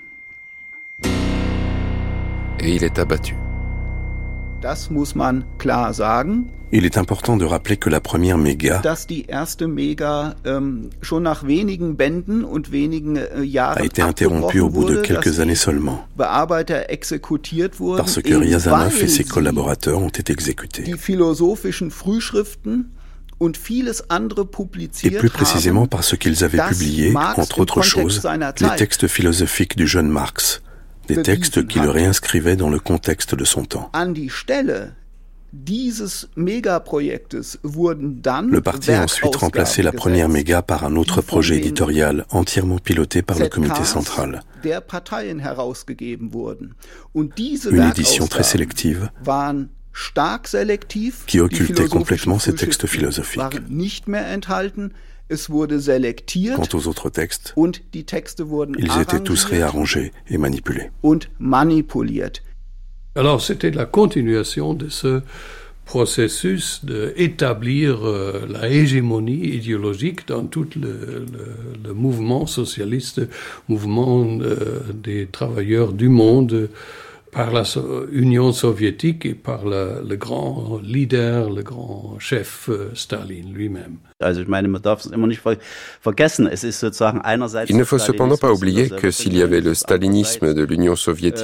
Et il est abattu. Das muss man klar sagen. Il est important de rappeler que la première Méga dass die erste Méga schon nach wenigen Bänden und wenigen Jahren a été interrompue au bout de quelques années seulement, Bearbeiter exekutiert wurden, parce que Riazanov et ses collaborateurs ont été exécutés. Die philosophischen Frühschriften und vieles andere publiziert et plus précisément parce qu'ils avaient publié, entre autres choses, les textes philosophiques du jeune Marx, des textes qui le réinscrivaient dans le contexte de son temps. An die Stelle dieses Megaprojektes wurden dann Le parti a ensuite remplacé la première Méga par un autre projet éditorial entièrement piloté par le comité central. Der Parteien herausgegeben wurden. Und diese Une édition très sélective waren stark selektiv, qui occultait complètement ces textes philosophiques. Waren nicht mehr enthalten. Es wurde selektiert. Quant aux autres textes, und die Texte wurden ils étaient tous réarrangés et manipulés. Und manipuliert. Alors c'était la continuation de ce processus d'établir la hégémonie idéologique dans tout le mouvement socialiste, mouvement des travailleurs du monde, par la Union soviétique et par le grand leader, le grand chef Staline lui-même. Also ich meine, man darf es immer nicht vergessen. Es ist sozusagen einerseits Il ne faut cependant pas oublier que s'il y avait le stalinisme de l'Union soviétique,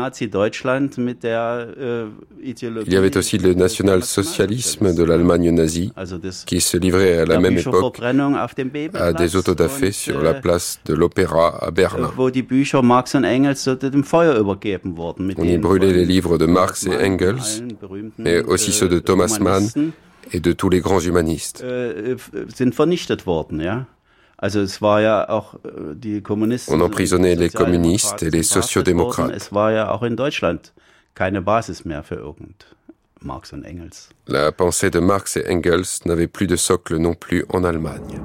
il y avait aussi le national-socialisme de l'Allemagne nazie, qui se livrait à la même époque à des autodafés sur la place de l'Opéra à Berlin. On y brûlait les livres de Marx et Engels, mais aussi ceux de Thomas Mann et de tous les grands humanistes. On emprisonnait les communistes et les sociodémocrates. La pensée de Marx et Engels n'avait plus de socle non plus en Allemagne.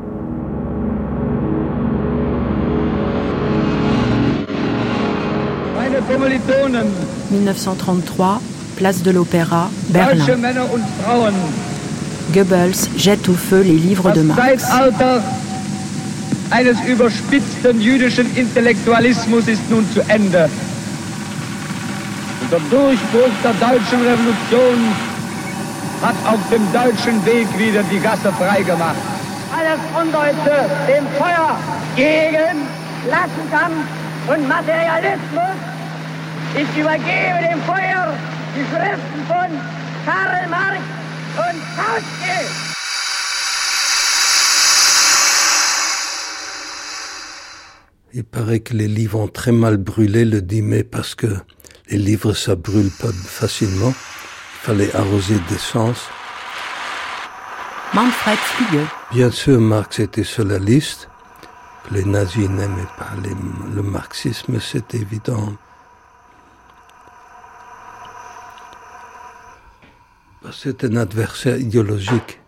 Meine Kommilitonen, 1933, place de l'Opéra, Berlin. Goebbels jette au feu les livres de Marx. eines überspitzten jüdischen Intellektualismus ist nun zu Ende. Und der Durchbruch der deutschen Revolution hat auf dem deutschen Weg wieder die Gasse freigemacht. Alles Undeutsche dem Feuer gegen Klassenkampf und Materialismus. Ich übergebe dem Feuer die Schriften von Karl Marx und Kautsky. Il paraît que les livres ont très mal brûlé le 10 mai parce que les livres, ça brûle pas facilement. Il fallait arroser d'essence. Manfred Flügge. Bien sûr, Marx était socialiste. Les nazis n'aimaient pas le marxisme, c'est évident. C'est un adversaire idéologique.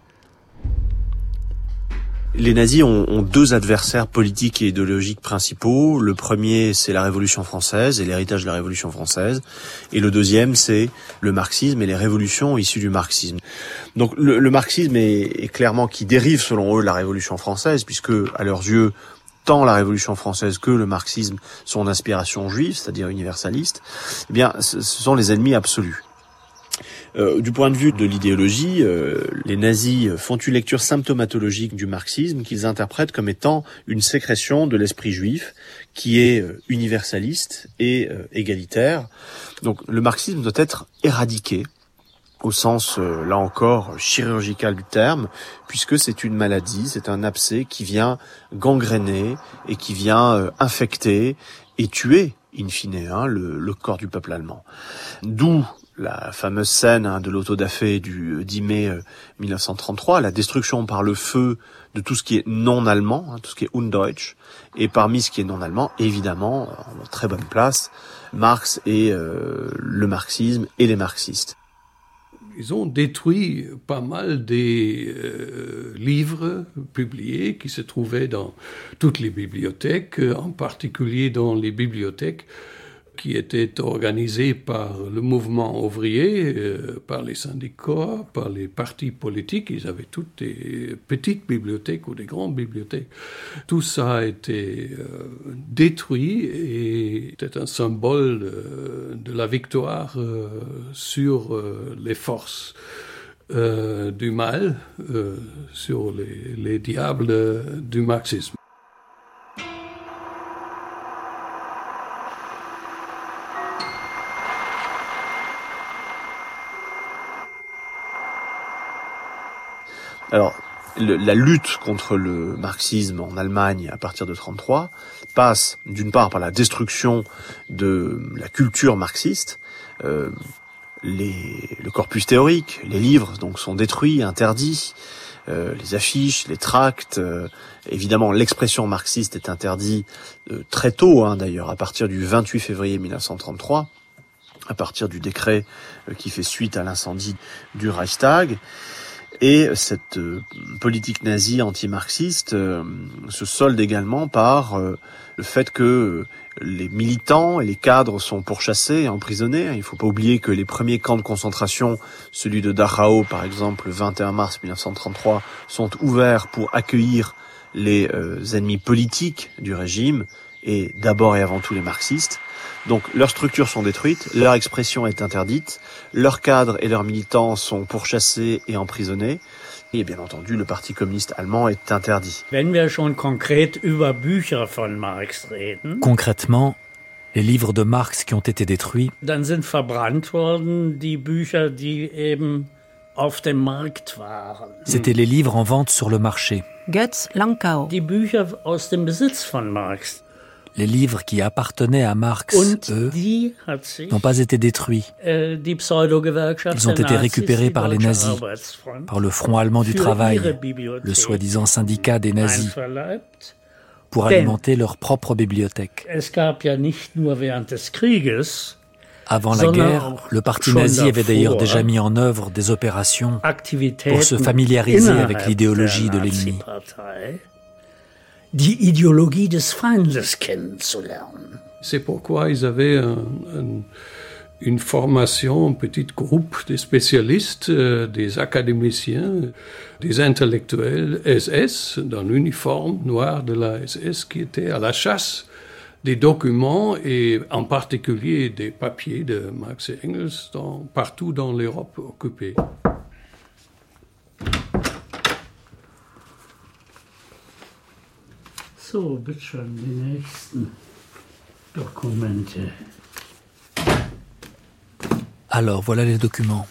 Les nazis ont deux adversaires politiques et idéologiques principaux. Le premier, c'est la Révolution française et l'héritage de la Révolution française. Et le deuxième, c'est le marxisme et les révolutions issues du marxisme. Donc le marxisme est clairement qui dérive, selon eux, de la Révolution française, puisque, à leurs yeux, tant la Révolution française que le marxisme sont d'inspiration juive, c'est-à-dire universaliste. Eh bien, ce sont les ennemis absolus. Du point de vue de l'idéologie, les nazis font une lecture symptomatologique du marxisme qu'ils interprètent comme étant une sécrétion de l'esprit juif qui est universaliste et égalitaire. Donc le marxisme doit être éradiqué au sens, là encore, chirurgical du terme, puisque c'est une maladie, c'est un abcès qui vient gangréner et qui vient infecter et tuer, in fine, le corps du peuple allemand. D'où la fameuse scène de l'autodafé du 10 mai 1933, la destruction par le feu de tout ce qui est non-allemand, tout ce qui est undeutsch, et parmi ce qui est non-allemand, évidemment, en très bonne place, Marx et le marxisme et les marxistes. Ils ont détruit pas mal des livres publiés qui se trouvaient dans toutes les bibliothèques, en particulier dans les bibliothèques qui étaient organisées par le mouvement ouvrier, par les syndicats, par les partis politiques. Ils avaient toutes des petites bibliothèques ou des grandes bibliothèques. Tout ça a été détruit et c'était un symbole de la victoire sur les forces du mal, sur les diables du marxisme. Alors, la lutte contre le marxisme en Allemagne à partir de 1933 passe d'une part par la destruction de la culture marxiste. Le corpus théorique, les livres donc sont détruits, interdits. Les affiches, les tracts, évidemment l'expression marxiste est interdite très tôt, d'ailleurs, à partir du 28 février 1933, à partir du décret qui fait suite à l'incendie du Reichstag. Et cette politique nazie anti-marxiste se solde également par le fait que les militants et les cadres sont pourchassés et emprisonnés. Il ne faut pas oublier que les premiers camps de concentration, celui de Dachau par exemple, le 21 mars 1933, sont ouverts pour accueillir les ennemis politiques du régime, et d'abord et avant tout les marxistes. Donc leurs structures sont détruites, leur expression est interdite, leurs cadres et leurs militants sont pourchassés et emprisonnés, et bien entendu le Parti communiste allemand est interdit. Concrètement, les livres de Marx qui ont été détruits, c'était les livres en vente sur le marché. Götz Lankau. Les livres qui appartenaient à Marx, eux, n'ont pas été détruits. Ils ont été récupérés par les nazis, par le Front allemand du travail, le soi-disant syndicat des nazis, pour alimenter leur propre bibliothèque. Avant la guerre, le parti nazi avait d'ailleurs déjà mis en œuvre des opérations pour se familiariser avec l'idéologie de l'ennemi. Die Ideologie des Feindes kennenzulernen. C'est pourquoi ils avaient une formation, un petit groupe de spécialistes, des académiciens, des intellectuels SS dans l'uniforme noir de la SS qui étaient à la chasse des documents et en particulier des papiers de Marx et Engels partout dans l'Europe occupée. So, bitte schön, die nächsten Dokumente. Alors, voilà les documents.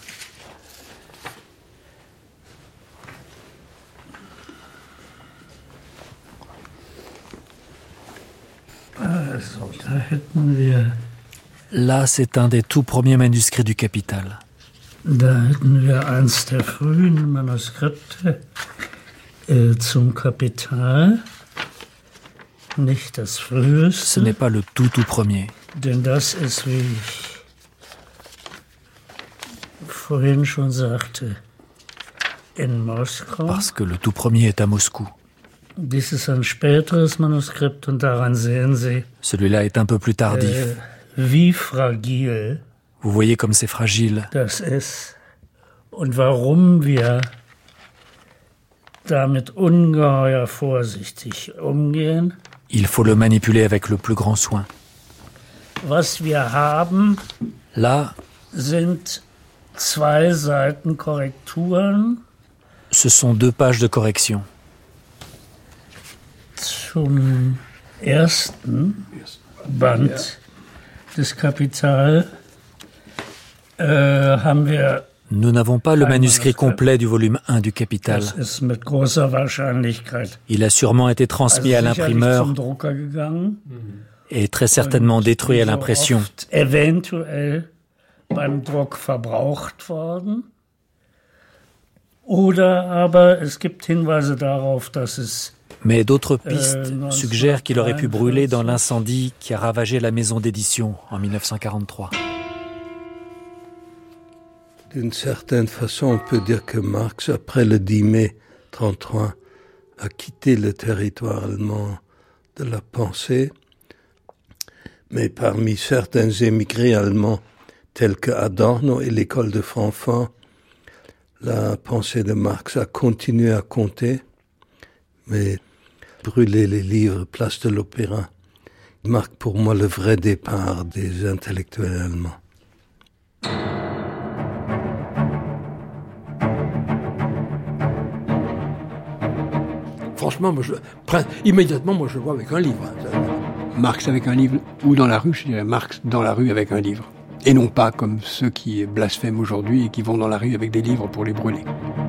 Also, da hätten wir... Là, c'est un des tout premiers manuscrits du Capital. Da hätten wir eins der frühen Manuskripte zum Kapital. Nicht das früheste. Ce n'est pas le tout premier. Denn das ist, wie ich vorhin schon sagte, in Moskau. Parce que le tout premier est à Moscou. Dies ist ein späteres Manuskript und daran sehen Sie. Celui-là est un peu plus tardif. Wie fragil. Vous voyez comme c'est fragile. Das ist. Und warum wir damit ungeheuer vorsichtig umgehen. Il faut le manipuler avec le plus grand soin. Was wir haben, là, sind 2 Seiten Korrekturen. Ce sont 2 pages de correction. Zum ersten Band des Kapital haben wir. Nous n'avons pas le manuscrit complet du volume 1 du Capital. Il a sûrement été transmis à l'imprimeur et très certainement détruit à l'impression. Mais d'autres pistes suggèrent qu'il aurait pu brûler dans l'incendie qui a ravagé la maison d'édition en 1943. D'une certaine façon, on peut dire que Marx, après le 10 mai 1933, a quitté le territoire allemand de la pensée. Mais parmi certains émigrés allemands, tels que Adorno et l'école de Francfort, la pensée de Marx a continué à compter. Mais brûler les livres, place de l'Opéra, marque pour moi le vrai départ des intellectuels allemands. Franchement, immédiatement, je le vois avec un livre. Marx avec un livre, ou dans la rue, je dirais Marx dans la rue avec un livre. Et non pas comme ceux qui blasphèment aujourd'hui et qui vont dans la rue avec des livres pour les brûler.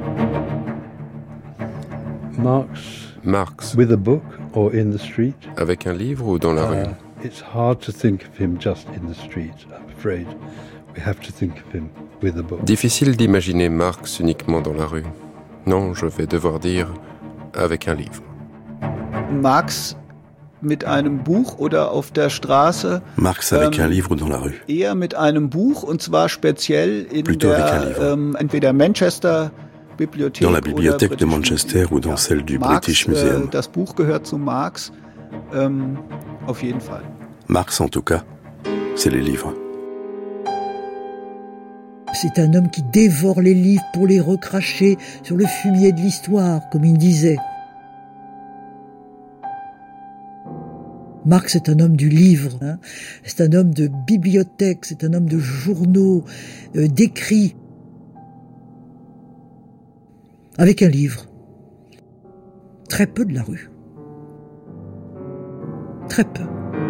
Marx. With a book or in the street? Avec un livre ou dans la rue? It's hard to think of him just in the street, I'm afraid. We have to think of him with a book. Difficile d'imaginer Marx uniquement dans la rue. Non, je vais devoir dire avec un livre. Marx mit einem Buch oder auf der Straße. Marx avec un livre dans la rue. Eher mit einem Buch und zwar speziell in der entweder Manchester Bibliothek dans la bibliothèque de Manchester ou dans celle du British Museum. Das Buch gehört zu Marx, auf jeden Fall. Marx en tout cas, c'est les livres. C'est un homme qui dévore les livres pour les recracher sur le fumier de l'histoire, comme il disait. Marx est un homme du livre, hein. C'est un homme de bibliothèque, c'est un homme de journaux, d'écrits. Avec un livre. Très peu de la rue. Très peu.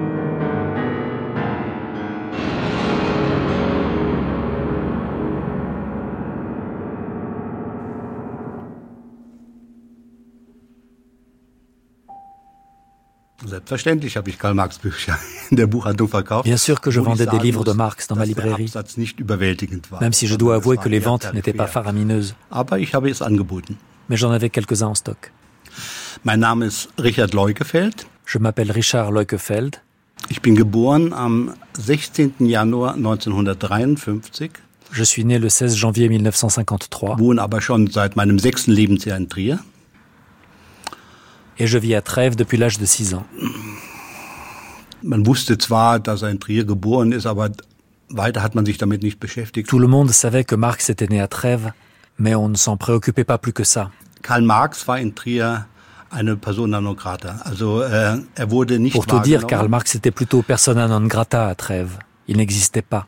Selbstverständlich habe ich Karl Marx Bücher in der Buchhandlung verkauft. Bien sûr que je vendais des livres de Marx dans ma librairie, même si je dois avouer que les ventes n'étaient pas faramineuses. Aber ich habe es angeboten. Mais j'en avais quelques-uns en stock. Mein Name ist Richard Leukefeld. Je m'appelle Richard Leukefeld. Ich bin geboren am 16. Januar 1953. Je suis né le 16 janvier 1953. Wohne aber schon seit meinem 6. Lebensjahr in Trier. Et je vis à Trèves depuis l'âge de 6 ans. Man wusste zwar, dass in Trier geboren ist, aber Tout le monde savait que Marx était né à Trèves, mais on ne s'en préoccupait pas plus que ça. Karl Marx war in Trier eine persona non grata. Also, wurde nicht Pour tout dire, Karl Marx était plutôt persona non grata à Trèves. Il n'existait pas.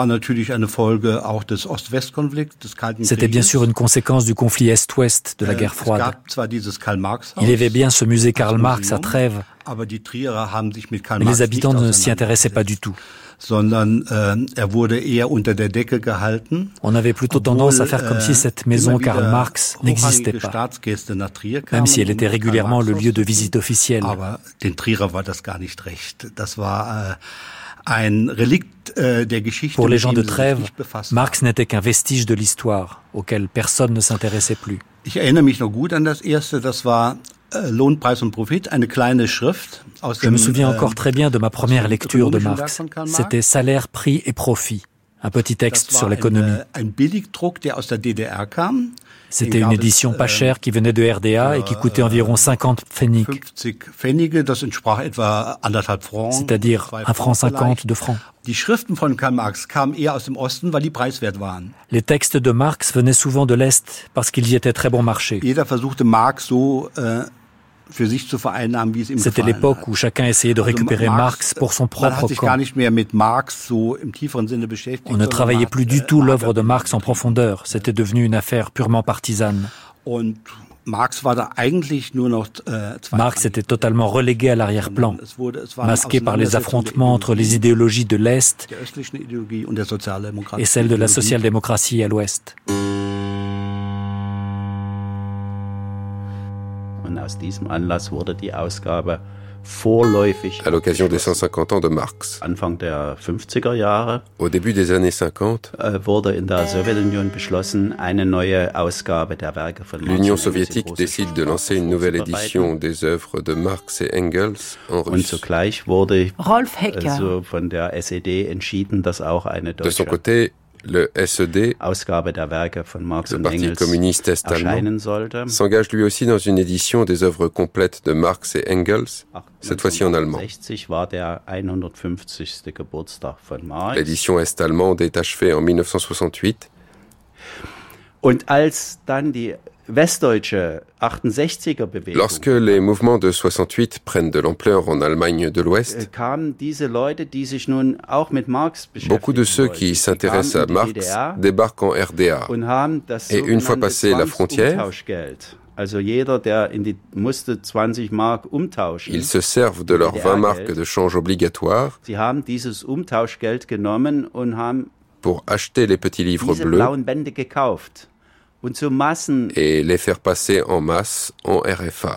C'était bien sûr une conséquence du conflit Est-Ouest de la guerre froide. Il y avait bien ce musée Karl Marx à Trèves, mais les habitants ne s'y intéressaient pas du tout. On avait plutôt tendance à faire comme si cette maison Karl Marx n'existait pas, même si elle était régulièrement le lieu de visite officielle. Pour les gens de Trèves, Marx n'était qu'un vestige de l'histoire, auquel personne ne s'intéressait plus. Je me souviens encore très bien de ma première lecture de Marx. C'était Salaire, prix et profit, un petit texte sur l'économie. C'était une édition pas chère qui venait de RDA et qui coûtait environ 50 Pfennig, c'est-à-dire 1,50 francs. Les textes de Marx venaient souvent de l'Est parce qu'il y était très bon marché. C'était l'époque où chacun essayait de récupérer Marx pour son propre camp. On ne travaillait plus du tout l'œuvre de Marx en profondeur. C'était devenu une affaire purement partisane. Marx était totalement relégué à l'arrière-plan, masqué par les affrontements entre les idéologies de l'Est et celles de la social-démocratie à l'Ouest. À l'occasion des 150 ans de Marx, au début des années 50, l'Union soviétique décide de lancer une nouvelle édition des œuvres de Marx et Engels en russe. Rolf Hecker. De son côté, le SED, le Parti communiste est-allemand, s'engage lui aussi dans une édition des œuvres complètes de Marx et Engels, cette fois-ci en allemand. L'édition est-allemande est achevée en 1968. Lorsque les mouvements de 68 prennent de l'ampleur en Allemagne de l'Ouest, beaucoup de ceux qui s'intéressent à Marx débarquent en RDA. Et une fois passée la frontière, ils se servent de leurs 20 marques de change obligatoire pour acheter les petits livres bleus et les faire passer en masse en RFA.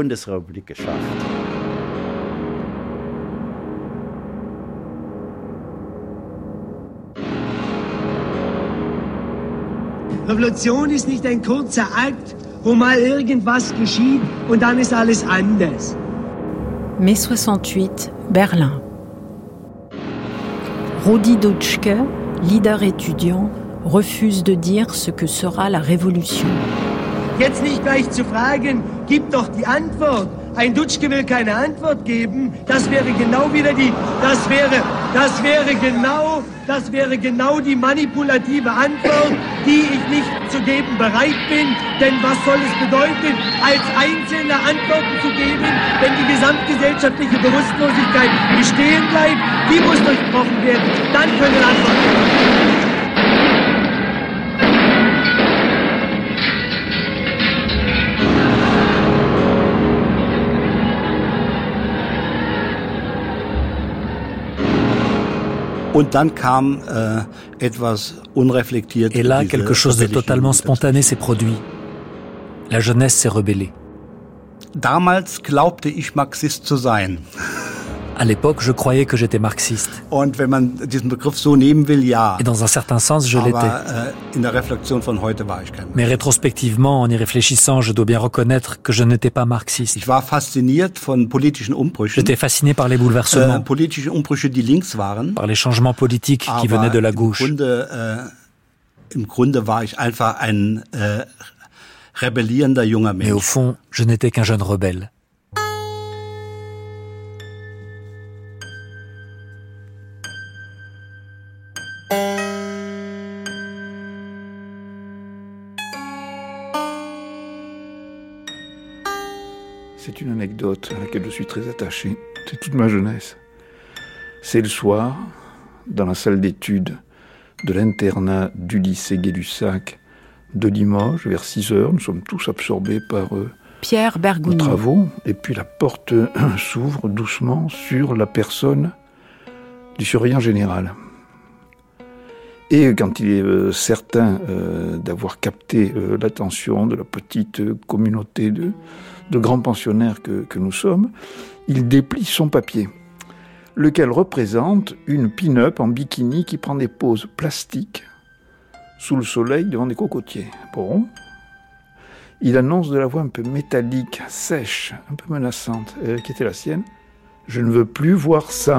Revolution ist nicht ein kurzer Akt, wo mal irgendwas geschieht und dann ist alles anders. Mai 68, Berlin. Rudi Dutschke, leader étudiant, refuse de dire ce que sera la révolution. Jetzt nicht gleich zu fragen, gib doch die Antwort. Ein Dutschke will keine Antwort geben. Das wäre genau die manipulative Antwort, die ich nicht zu geben bereit bin. Denn was soll es bedeuten, als Einzelne Antworten zu geben, wenn die gesamtgesellschaftliche Bewusstlosigkeit bestehen bleibt? Die muss durchbrochen werden. Dann können Antworten kommen. Et là, quelque chose de totalement spontané s'est produit. La jeunesse s'est rebellée. Damals glaubte ich, Marxist zu sein. À l'époque, je croyais que j'étais marxiste. Und wenn man diesen Begriff so nehmen will, ja. Et dans un certain sens, je l'étais. In der Reflexion von heute war ich kein Mais rétrospectivement, en y réfléchissant, je dois bien reconnaître que je n'étais pas marxiste. Ich war fasziniert von politischen Umbrüchen. J'étais fasciné par les bouleversements. Politische Umbrüche, die links waren. Par les changements politiques qui venaient de la gauche. Im Grunde war ich einfach ein rebellierender junger Mensch. Mais au fond, je n'étais qu'un jeune rebelle. C'est une anecdote à laquelle je suis très attaché. C'est toute ma jeunesse. C'est le soir, dans la salle d'études de l'internat du lycée Gay-Lussac de Limoges, vers 6h. Nous sommes tous absorbés par Pierre Bergougnou. nos travaux. Et puis la porte s'ouvre doucement sur la personne du surveillant général. Et quand il est certain d'avoir capté l'attention de la petite communauté de grands pensionnaires que nous sommes, il déplie son papier, lequel représente une pin-up en bikini qui prend des poses plastiques sous le soleil devant des cocotiers. Bon. Il annonce de la voix un peu métallique, sèche, un peu menaçante, qui était la sienne. « Je ne veux plus voir ça !»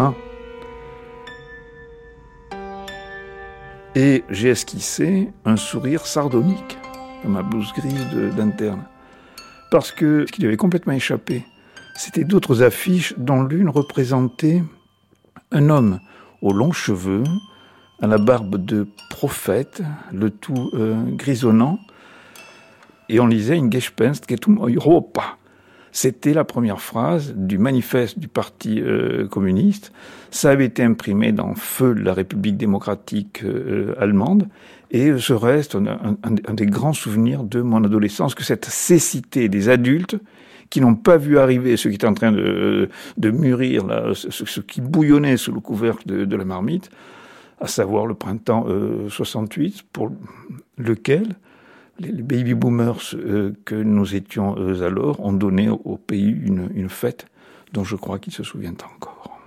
Et j'ai esquissé un sourire sardonique dans ma blouse grise d'interne. Parce que ce qui lui avait complètement échappé, c'était d'autres affiches dont l'une représentait un homme aux longs cheveux, à la barbe de prophète, le tout grisonnant, et on lisait « In Gespenst geht um Europa ». C'était la première phrase du manifeste du Parti communiste. Ça avait été imprimé dans Feu de la République démocratique allemande. Et ce reste un des grands souvenirs de mon adolescence, que cette cécité des adultes qui n'ont pas vu arriver ce qui était en train de mûrir, là, ce qui bouillonnait sous le couvercle de la marmite, à savoir le printemps 68, pour lequel les baby-boomers que nous étions alors ont donné au pays une fête dont je crois qu'ils se souviennent encore.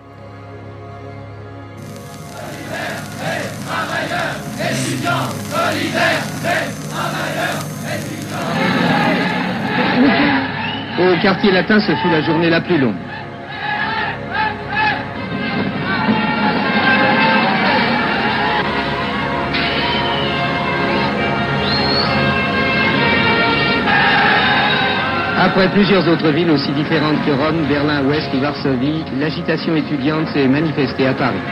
Travailleurs, étudiants, solidaires, travailleurs, étudiants. Au quartier latin, ce fut la journée la plus longue. Après plusieurs autres villes aussi différentes que Rome, Berlin-Ouest ou Varsovie, l'agitation étudiante s'est manifestée à Paris.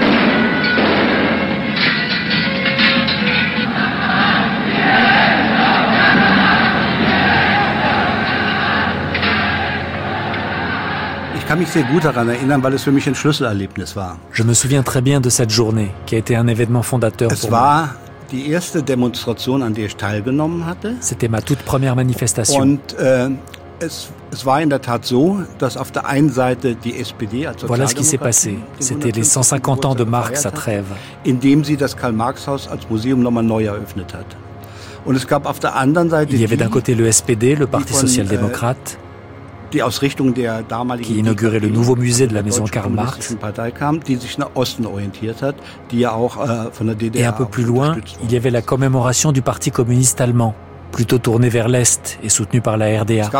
Je me souviens très bien de cette journée, qui a été un événement fondateur pour moi. C'était ma toute première manifestation. Voilà ce qui s'est passé. C'était les 150 ans de Marx à Trèves. Il y avait d'un côté le SPD, le Parti social-démocrate, qui inaugurait le nouveau musée de la maison Karl Marx. Et un peu plus loin, il y avait la commémoration du Parti communiste allemand, plutôt tourné vers l'Est et soutenu par la RDA.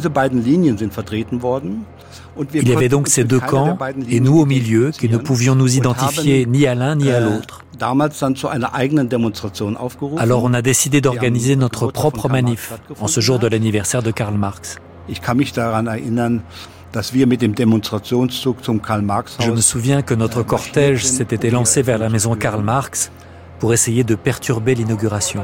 Il y avait donc ces deux camps, et nous au milieu, qui ne pouvions nous identifier ni à l'un ni à l'autre. Alors on a décidé d'organiser notre propre manif, en ce jour de l'anniversaire de Karl Marx. Je me souviens que notre cortège s'était élancé vers la maison Karl Marx pour essayer de perturber l'inauguration.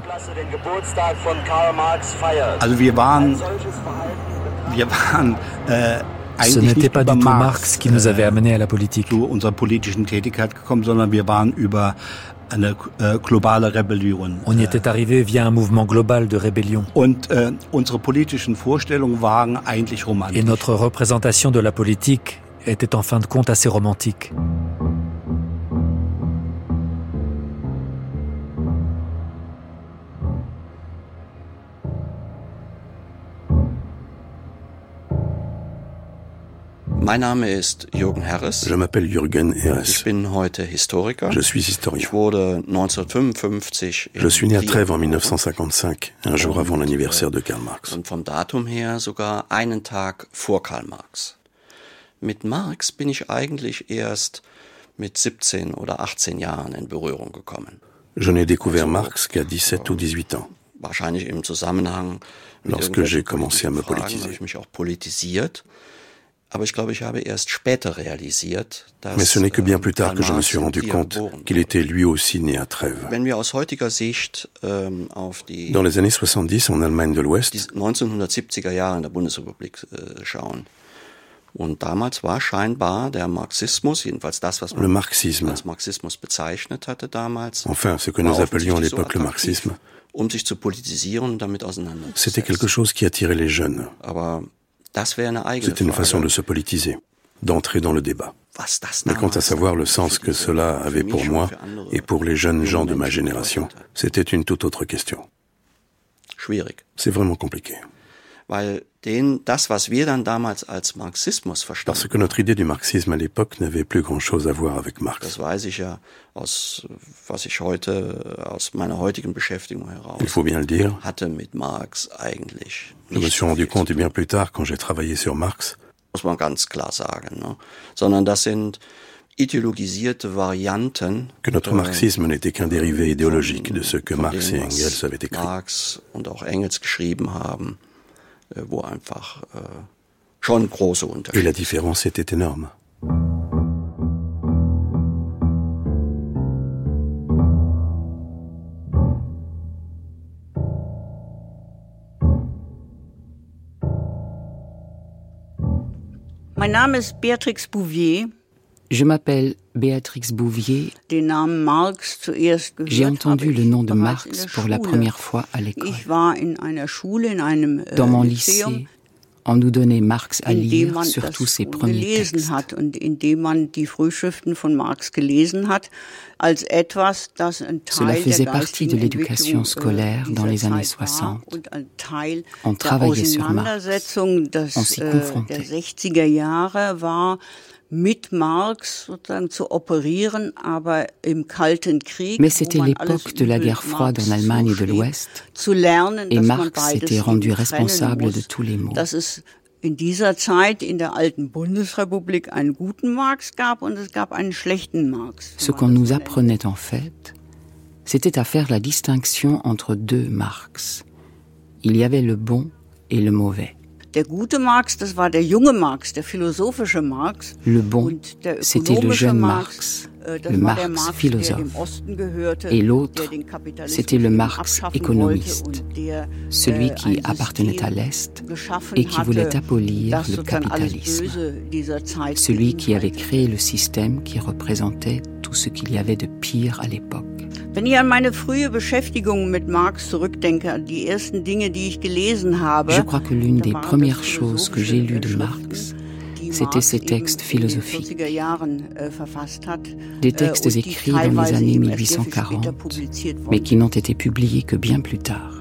Ce n'était pas du tout Marx qui nous avait amenés à la politique. On y était arrivé via un mouvement global de rébellion. Et notre représentation de la politique était en fin de compte assez romantique. Je m'appelle Jürgen Herres. Je suis historien. Je suis né à Trèves en 1955, un jour avant l'anniversaire de Karl Marx. Mit Marx bin ich eigentlich erst mit 17 oder 18 Jahren in Berührung gekommen. Je n'ai découvert Marx qu'à 17 ou 18 ans. Lorsque j'ai commencé à me politiser. Mais ce n'est que bien plus tard que je me suis rendu compte qu'il était lui aussi né à Trèves. Dans les années 70, en Allemagne de l'Ouest, le marxisme, enfin ce que nous appelions à l'époque le marxisme, c'était quelque chose qui attirait les jeunes. C'était une façon de se politiser, d'entrer dans le débat. Mais quant à savoir le sens que cela avait pour moi et pour les jeunes gens de ma génération, c'était une toute autre question. C'est vraiment compliqué. Parce que notre idée du marxisme à l'époque n'avait plus grand-chose à voir avec Marx. Il faut bien le dire. Je me suis rendu compte bien plus tard, quand j'ai travaillé sur Marx, que notre marxisme n'était qu'un dérivé idéologique de ce que Marx et Engels avaient écrit. Et la différence était énorme. Mein Name ist Beatrix Bouvier. Je m'appelle Béatrix Bouvier. J'ai entendu le nom de Marx pour la première fois à l'école. Dans mon lycée, on nous donnait Marx à lire, surtout ses premiers textes. Cela faisait partie de l'éducation scolaire dans les années 60. On travaillait sur Marx, on s'y confrontait. Mais c'était l'époque de la guerre froide en Allemagne de l'Ouest et Marx s'était rendu responsable de tous les maux. In dieser Zeit in der alten Bundesrepublik einen guten Marx gab und es gab einen schlechten Marx. Ce qu'on nous apprenait en fait, c'était à faire la distinction entre deux Marx. Il y avait le bon et le mauvais. Der gute Marx, das war der junge Marx, der philosophische Marx. Le bon, c'était le jeune Marx, le Marx philosophe. Et l'autre, c'était le Marx économiste, celui qui appartenait à l'Est et qui voulait abolir le capitalisme, celui qui avait créé le système qui représentait tout ce qu'il y avait de pire à l'époque. Wenn ich an meine frühe Beschäftigung mit Marx zurückdenke, an die ersten Dinge, die ich gelesen habe, je crois que l'une des premières choses que j'ai lues de Marx, c'était ses textes philosophiques. Des textes écrits dans les années 1840, mais qui n'ont été publiés que bien plus tard.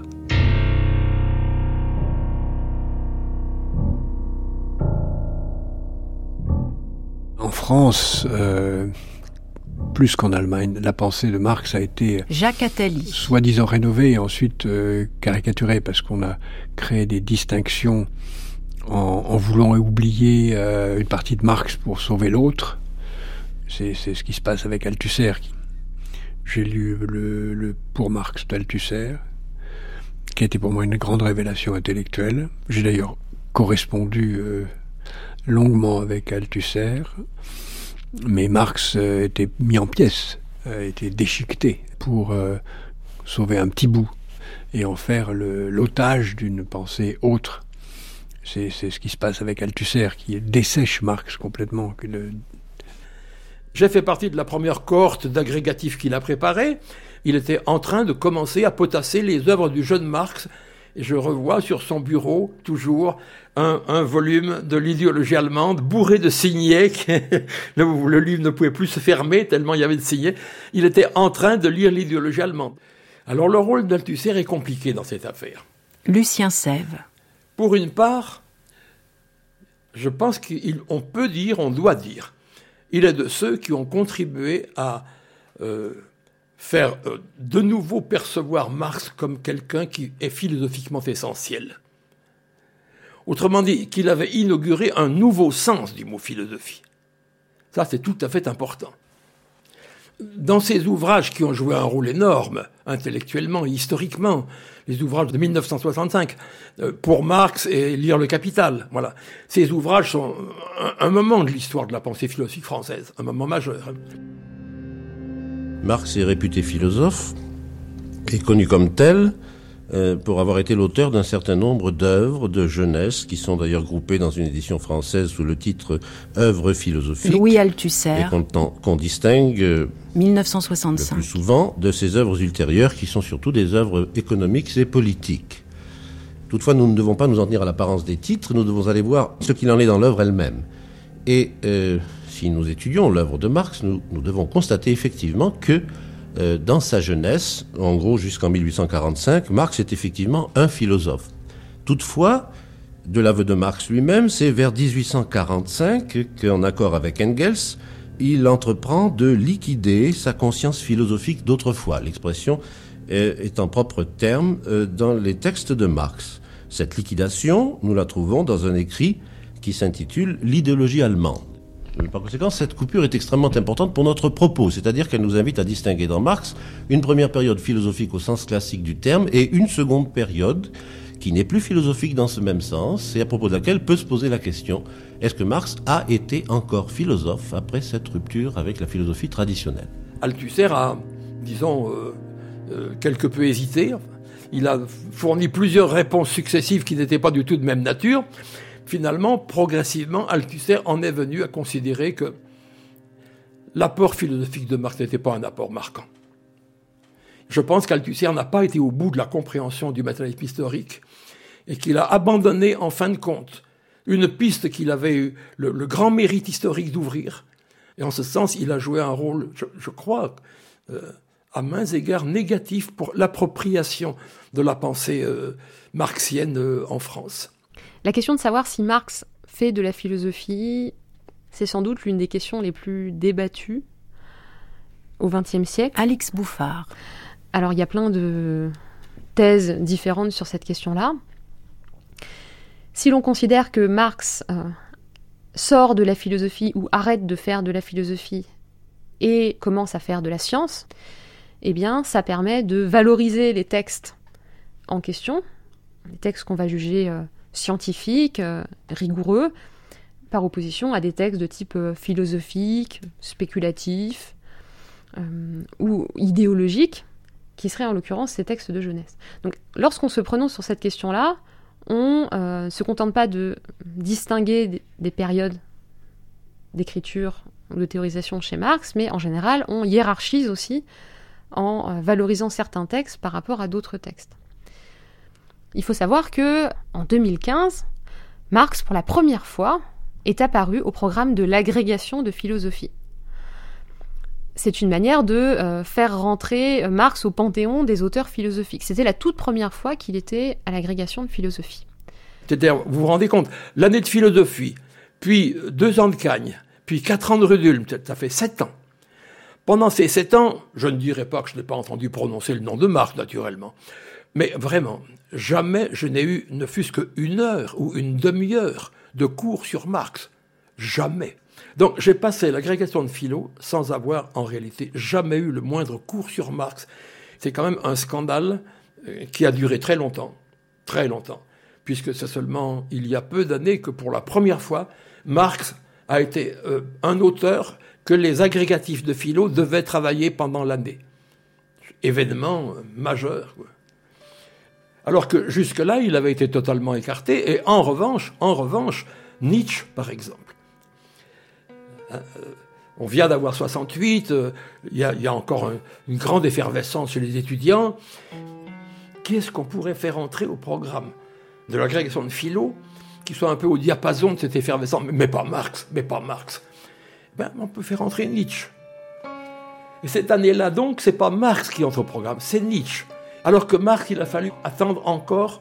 En France, plus qu'en Allemagne, la pensée de Marx a été soi-disant rénovée et ensuite caricaturée parce qu'on a créé des distinctions en voulant oublier une partie de Marx pour sauver l'autre. C'est ce qui se passe avec Althusser. J'ai lu le Pour Marx d'Althusser, qui a été pour moi une grande révélation intellectuelle. J'ai d'ailleurs correspondu longuement avec Althusser. Mais Marx était mis en pièces, était déchiqueté pour sauver un petit bout et en faire l'otage d'une pensée autre. C'est ce qui se passe avec Althusser, qui dessèche Marx complètement. J'ai fait partie de la première cohorte d'agrégatifs qu'il a préparé. Il était en train de commencer à potasser les œuvres du jeune Marx. Et je revois sur son bureau, toujours, un volume de l'idéologie allemande, bourré de signets. Le livre ne pouvait plus se fermer, tellement il y avait de signets. Il était en train de lire l'idéologie allemande. Alors le rôle d'Althusser est compliqué dans cette affaire. Lucien Sève. Pour une part, je pense qu'on peut dire, on doit dire, il est de ceux qui ont contribué à faire de nouveau percevoir Marx comme quelqu'un qui est philosophiquement essentiel. Autrement dit, qu'il avait inauguré un nouveau sens du mot philosophie. Ça, c'est tout à fait important. Dans ces ouvrages qui ont joué un rôle énorme, intellectuellement et historiquement, les ouvrages de 1965, pour Marx et Lire le Capital, voilà. Ces ouvrages sont un moment de l'histoire de la pensée philosophique française, un moment majeur. Marx est réputé philosophe, et connu comme tel, pour avoir été l'auteur d'un certain nombre d'œuvres de jeunesse, qui sont d'ailleurs groupées dans une édition française sous le titre « Œuvres philosophiques ». Louis Althusser. Et qu'on distingue 1965. Le plus souvent de ces œuvres ultérieures, qui sont surtout des œuvres économiques et politiques. Toutefois, nous ne devons pas nous en tenir à l'apparence des titres, nous devons aller voir ce qu'il en est dans l'œuvre elle-même. Et si nous étudions l'œuvre de Marx, nous devons constater effectivement que dans sa jeunesse, en gros jusqu'en 1845, Marx est effectivement un philosophe. Toutefois, de l'aveu de Marx lui-même, c'est vers 1845 qu'en accord avec Engels, il entreprend de liquider sa conscience philosophique d'autrefois. L'expression est en propre terme dans les textes de Marx. Cette liquidation, nous la trouvons dans un écrit qui s'intitule « L'idéologie allemande ». Par conséquent, cette coupure est extrêmement importante pour notre propos, c'est-à-dire qu'elle nous invite à distinguer dans Marx une première période philosophique au sens classique du terme et une seconde période qui n'est plus philosophique dans ce même sens et à propos de laquelle peut se poser la question, est-ce que Marx a été encore philosophe après cette rupture avec la philosophie traditionnelle ? Althusser a, disons, quelque peu hésité. Il a fourni plusieurs réponses successives qui n'étaient pas du tout de même nature. Finalement, progressivement, Althusser en est venu à considérer que l'apport philosophique de Marx n'était pas un apport marquant. Je pense qu'Althusser n'a pas été au bout de la compréhension du matérialisme historique et qu'il a abandonné, en fin de compte, une piste qu'il avait eu le grand mérite historique d'ouvrir. Et en ce sens, il a joué un rôle, je crois, à maints égards négatif pour l'appropriation de la pensée marxienne en France. La question de savoir si Marx fait de la philosophie, c'est sans doute l'une des questions les plus débattues au XXe siècle. Alix Bouffard. Alors, il y a plein de thèses différentes sur cette question-là. Si l'on considère que Marx sort de la philosophie ou arrête de faire de la philosophie et commence à faire de la science, eh bien, ça permet de valoriser les textes en question, les textes qu'on va juger scientifiques, rigoureux, par opposition à des textes de type philosophique, spéculatif ou idéologique, qui seraient en l'occurrence ces textes de jeunesse. Donc, lorsqu'on se prononce sur cette question-là, on ne se contente pas de distinguer des périodes d'écriture ou de théorisation chez Marx, mais en général, on hiérarchise aussi en valorisant certains textes par rapport à d'autres textes. Il faut savoir que en 2015, Marx, pour la première fois, est apparu au programme de l'agrégation de philosophie. C'est une manière de faire rentrer Marx au panthéon des auteurs philosophiques. C'était la toute première fois qu'il était à l'agrégation de philosophie. C'est-à-dire, vous vous rendez compte, l'année de philosophie, puis 2 ans de Cagne, puis 4 ans de Rudulm, ça fait 7 ans. Pendant ces 7 ans, je ne dirais pas que je n'ai pas entendu prononcer le nom de Marx, naturellement. Mais vraiment, jamais je n'ai eu ne fût-ce qu'une heure ou une demi-heure de cours sur Marx. Jamais. Donc j'ai passé l'agrégation de philo sans avoir en réalité jamais eu le moindre cours sur Marx. C'est quand même un scandale qui a duré très longtemps, puisque c'est seulement il y a peu d'années que pour la première fois, Marx a été un auteur que les agrégatifs de philo devaient travailler pendant l'année. Événement majeur, quoi. Alors que jusque-là, il avait été totalement écarté. Et en revanche, Nietzsche, par exemple. On vient d'avoir 68, il y a encore une grande effervescence chez les étudiants. Qu'est-ce qu'on pourrait faire entrer au programme de l'agrégation de philo qui soit un peu au diapason de cette effervescence, mais pas Marx. On peut faire entrer Nietzsche. Et cette année-là, donc, c'est pas Marx qui entre au programme, c'est Nietzsche. Alors que Marx, il a fallu attendre encore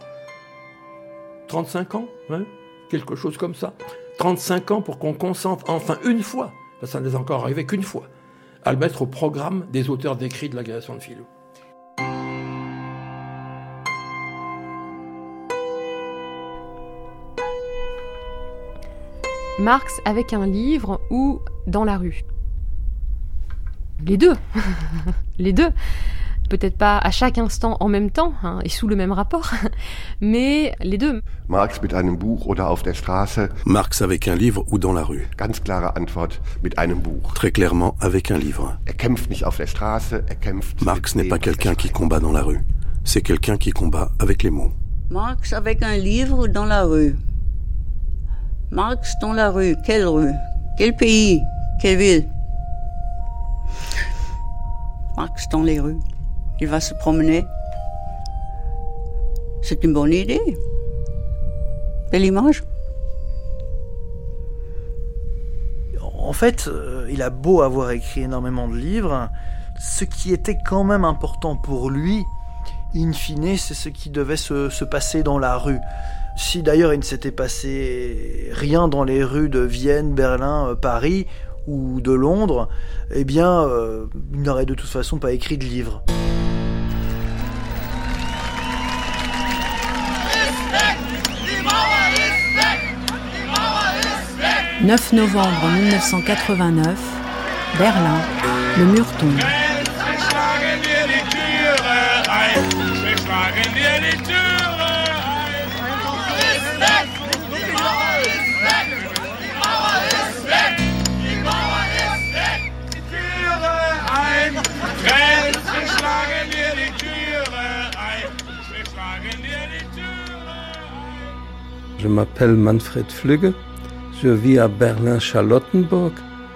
35 ans, quelque chose comme ça. 35 ans pour qu'on consente enfin une fois, ça n'est encore arrivé qu'une fois, à le mettre au programme des auteurs d'écrits de l'agrégation de philo. Marx avec un livre ou dans la rue. Les deux. Les deux. Peut-être pas à chaque instant en même temps et sous le même rapport, mais les deux. Marx mit einem Buch oder auf der Straße. Marx avec un livre ou dans la rue. Ganz klare Antwort mit einem Buch. Très clairement avec un livre. Kämpft nicht auf der Straße, kämpft. Marx n'est pas quelqu'un qui combat dans la rue. C'est quelqu'un qui combat avec les mots. Marx avec un livre dans la rue. Marx dans la rue. Quelle rue? Quel pays? Quelle ville? Marx dans les rues. Il va se promener. C'est une bonne idée. Belle image. En fait, il a beau avoir écrit énormément de livres, ce qui était quand même important pour lui, in fine, c'est ce qui devait se passer dans la rue. Si d'ailleurs il ne s'était passé rien dans les rues de Vienne, Berlin, Paris ou de Londres, eh bien, il n'aurait de toute façon pas écrit de livre. 9 novembre 1989, Berlin, le mur tombe. Je m'appelle Manfred Flügge, je vis à Berlin-Charlottenburg.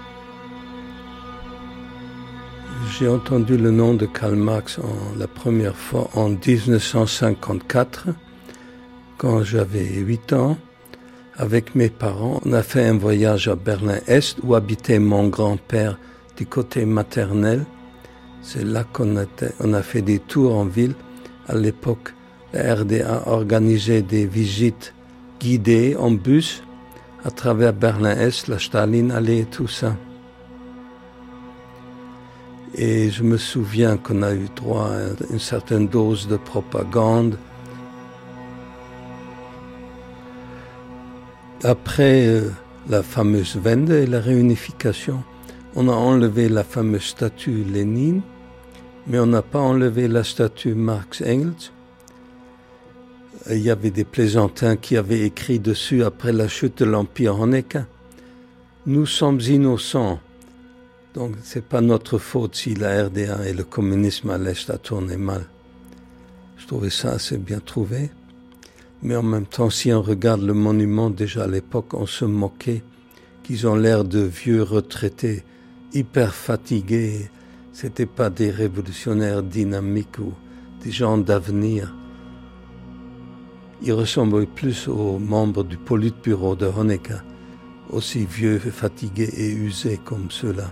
J'ai entendu le nom de Karl Marx la première fois en 1954, quand j'avais 8 ans. Avec mes parents, on a fait un voyage à Berlin-Est où habitait mon grand-père du côté maternel. C'est là qu'on a fait des tours en ville. À l'époque, la RDA organisait des visites guidées en bus à travers Berlin-Est, la Stalinallee et tout ça. Et je me souviens qu'on a eu droit à une certaine dose de propagande. Après la fameuse Wende et la réunification, on a enlevé la fameuse statue Lénine, mais on n'a pas enlevé la statue Marx-Engels. Il y avait des plaisantins qui avaient écrit dessus après la chute de l'Empire Honecker. Nous sommes innocents. Donc c'est pas notre faute si la RDA et le communisme à l'Est a tourné mal. Je trouvais ça assez bien trouvé. Mais en même temps, si on regarde le monument, déjà à l'époque, on se moquait qu'ils ont l'air de vieux retraités, hyper fatigués. C'était pas des révolutionnaires dynamiques ou des gens d'avenir. Ils ressemblaient plus aux membres du Politburo de Honecker, aussi vieux, fatigués et usés comme ceux-là.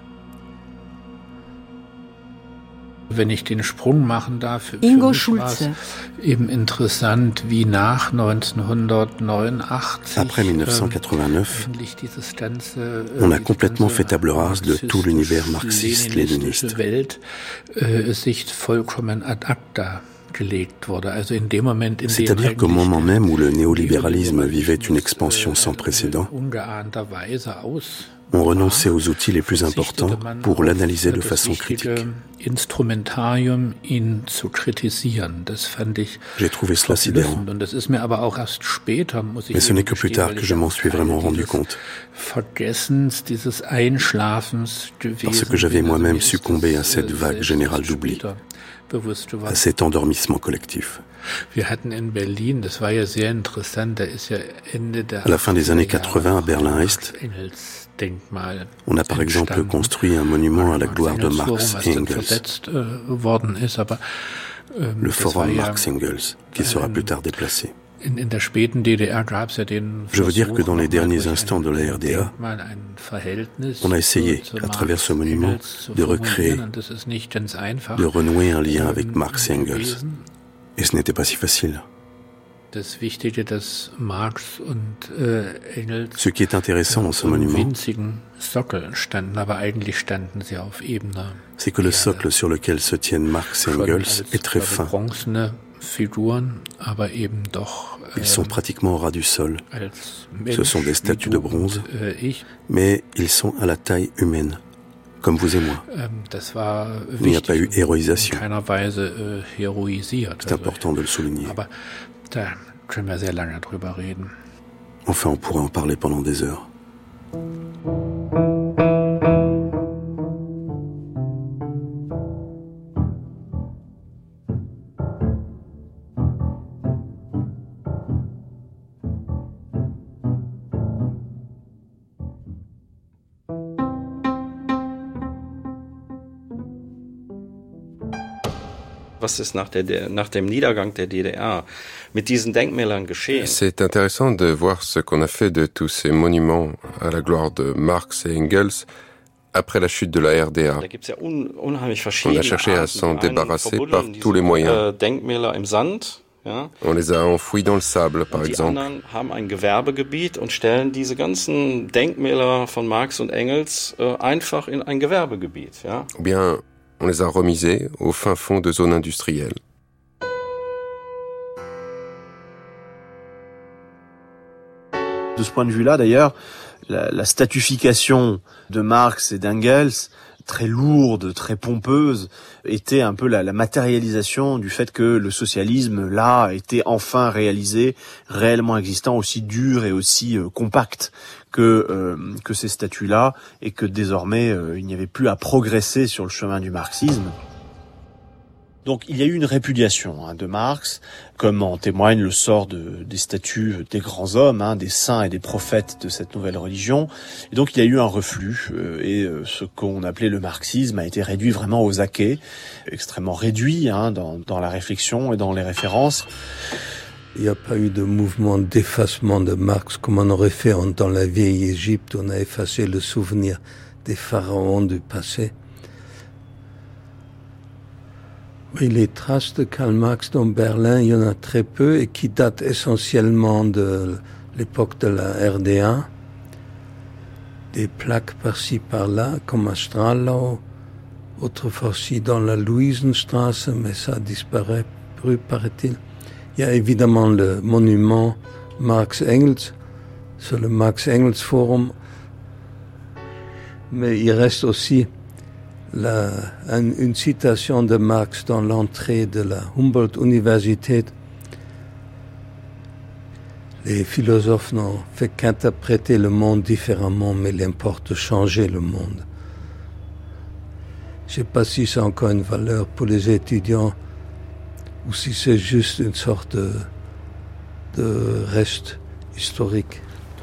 Wenn ich den Sprung machen darf, Ingo Schulze. Eben interessant, wie nach 1989, après 1989, on a complètement fait table rase de tout l'univers marxiste-léniniste. Sich vollkommen ad acta. C'est-à-dire qu'au moment même où le néolibéralisme vivait une expansion sans précédent, on renonçait aux outils les plus importants pour l'analyser de façon critique. J'ai trouvé cela sidérant. Mais ce n'est que plus tard que je m'en suis vraiment rendu compte. Parce que j'avais moi-même succombé à cette vague générale d'oubli, à cet endormissement collectif. À la fin des années 80, à Berlin-Est, on a par exemple construit un monument à la gloire de Marx et Engels, le forum Marx-Engels, qui sera plus tard déplacé. Je veux dire que dans les derniers instants de la RDA, on a essayé, à travers ce monument, de recréer, de renouer un lien avec Marx et Engels. Et ce n'était pas si facile. Ce qui est intéressant dans ce monument, c'est que le socle sur lequel se tiennent Marx et Engels est très fin. Ils sont pratiquement au ras du sol. Ce sont des statues de bronze, mais ils sont à la taille humaine, comme vous et moi. Il n'y a pas eu héroïsation. C'est important de le souligner. Enfin, on pourrait en parler pendant des heures. C'est intéressant de voir ce qu'on a fait de tous ces monuments à la gloire de Marx et Engels après la chute de la RDA. On a cherché à s'en débarrasser par tous les moyens. On les a enfouis dans le sable, par exemple. Ou bien on les a remisés au fin fond de zones industrielles. De ce point de vue-là, d'ailleurs, la statufication de Marx et d'Engels, très lourde, très pompeuse, était un peu la matérialisation du fait que le socialisme, là, était enfin réalisé, réellement existant, aussi dur et aussi compact que ces statuts-là, et que désormais, il n'y avait plus à progresser sur le chemin du marxisme. Donc il y a eu une répudiation de Marx, comme en témoigne le sort des statuts des grands hommes, des saints et des prophètes de cette nouvelle religion. Et donc il y a eu un reflux, et ce qu'on appelait le marxisme a été réduit vraiment aux acquets, extrêmement réduit dans la réflexion et dans les références. Il n'y a pas eu de mouvement d'effacement de Marx comme on aurait fait dans la vieille Égypte. On a effacé le souvenir des pharaons du passé. Oui, les traces de Karl Marx dans Berlin, il y en a très peu et qui datent essentiellement de l'époque de la RDA. Des plaques par-ci par-là, comme à Strahlau, autrefois aussi dans la Luisenstraße, mais ça a disparu, paraît-il. Il y a évidemment le monument Marx-Engels, sur le Marx-Engels-Forum, mais il reste aussi une citation de Marx dans l'entrée de la Humboldt-Universität. Les philosophes n'ont fait qu'interpréter le monde différemment, mais il importe de changer le monde. Je ne sais pas si c'est encore une valeur pour les étudiants ou si c'est juste une sorte de reste historique.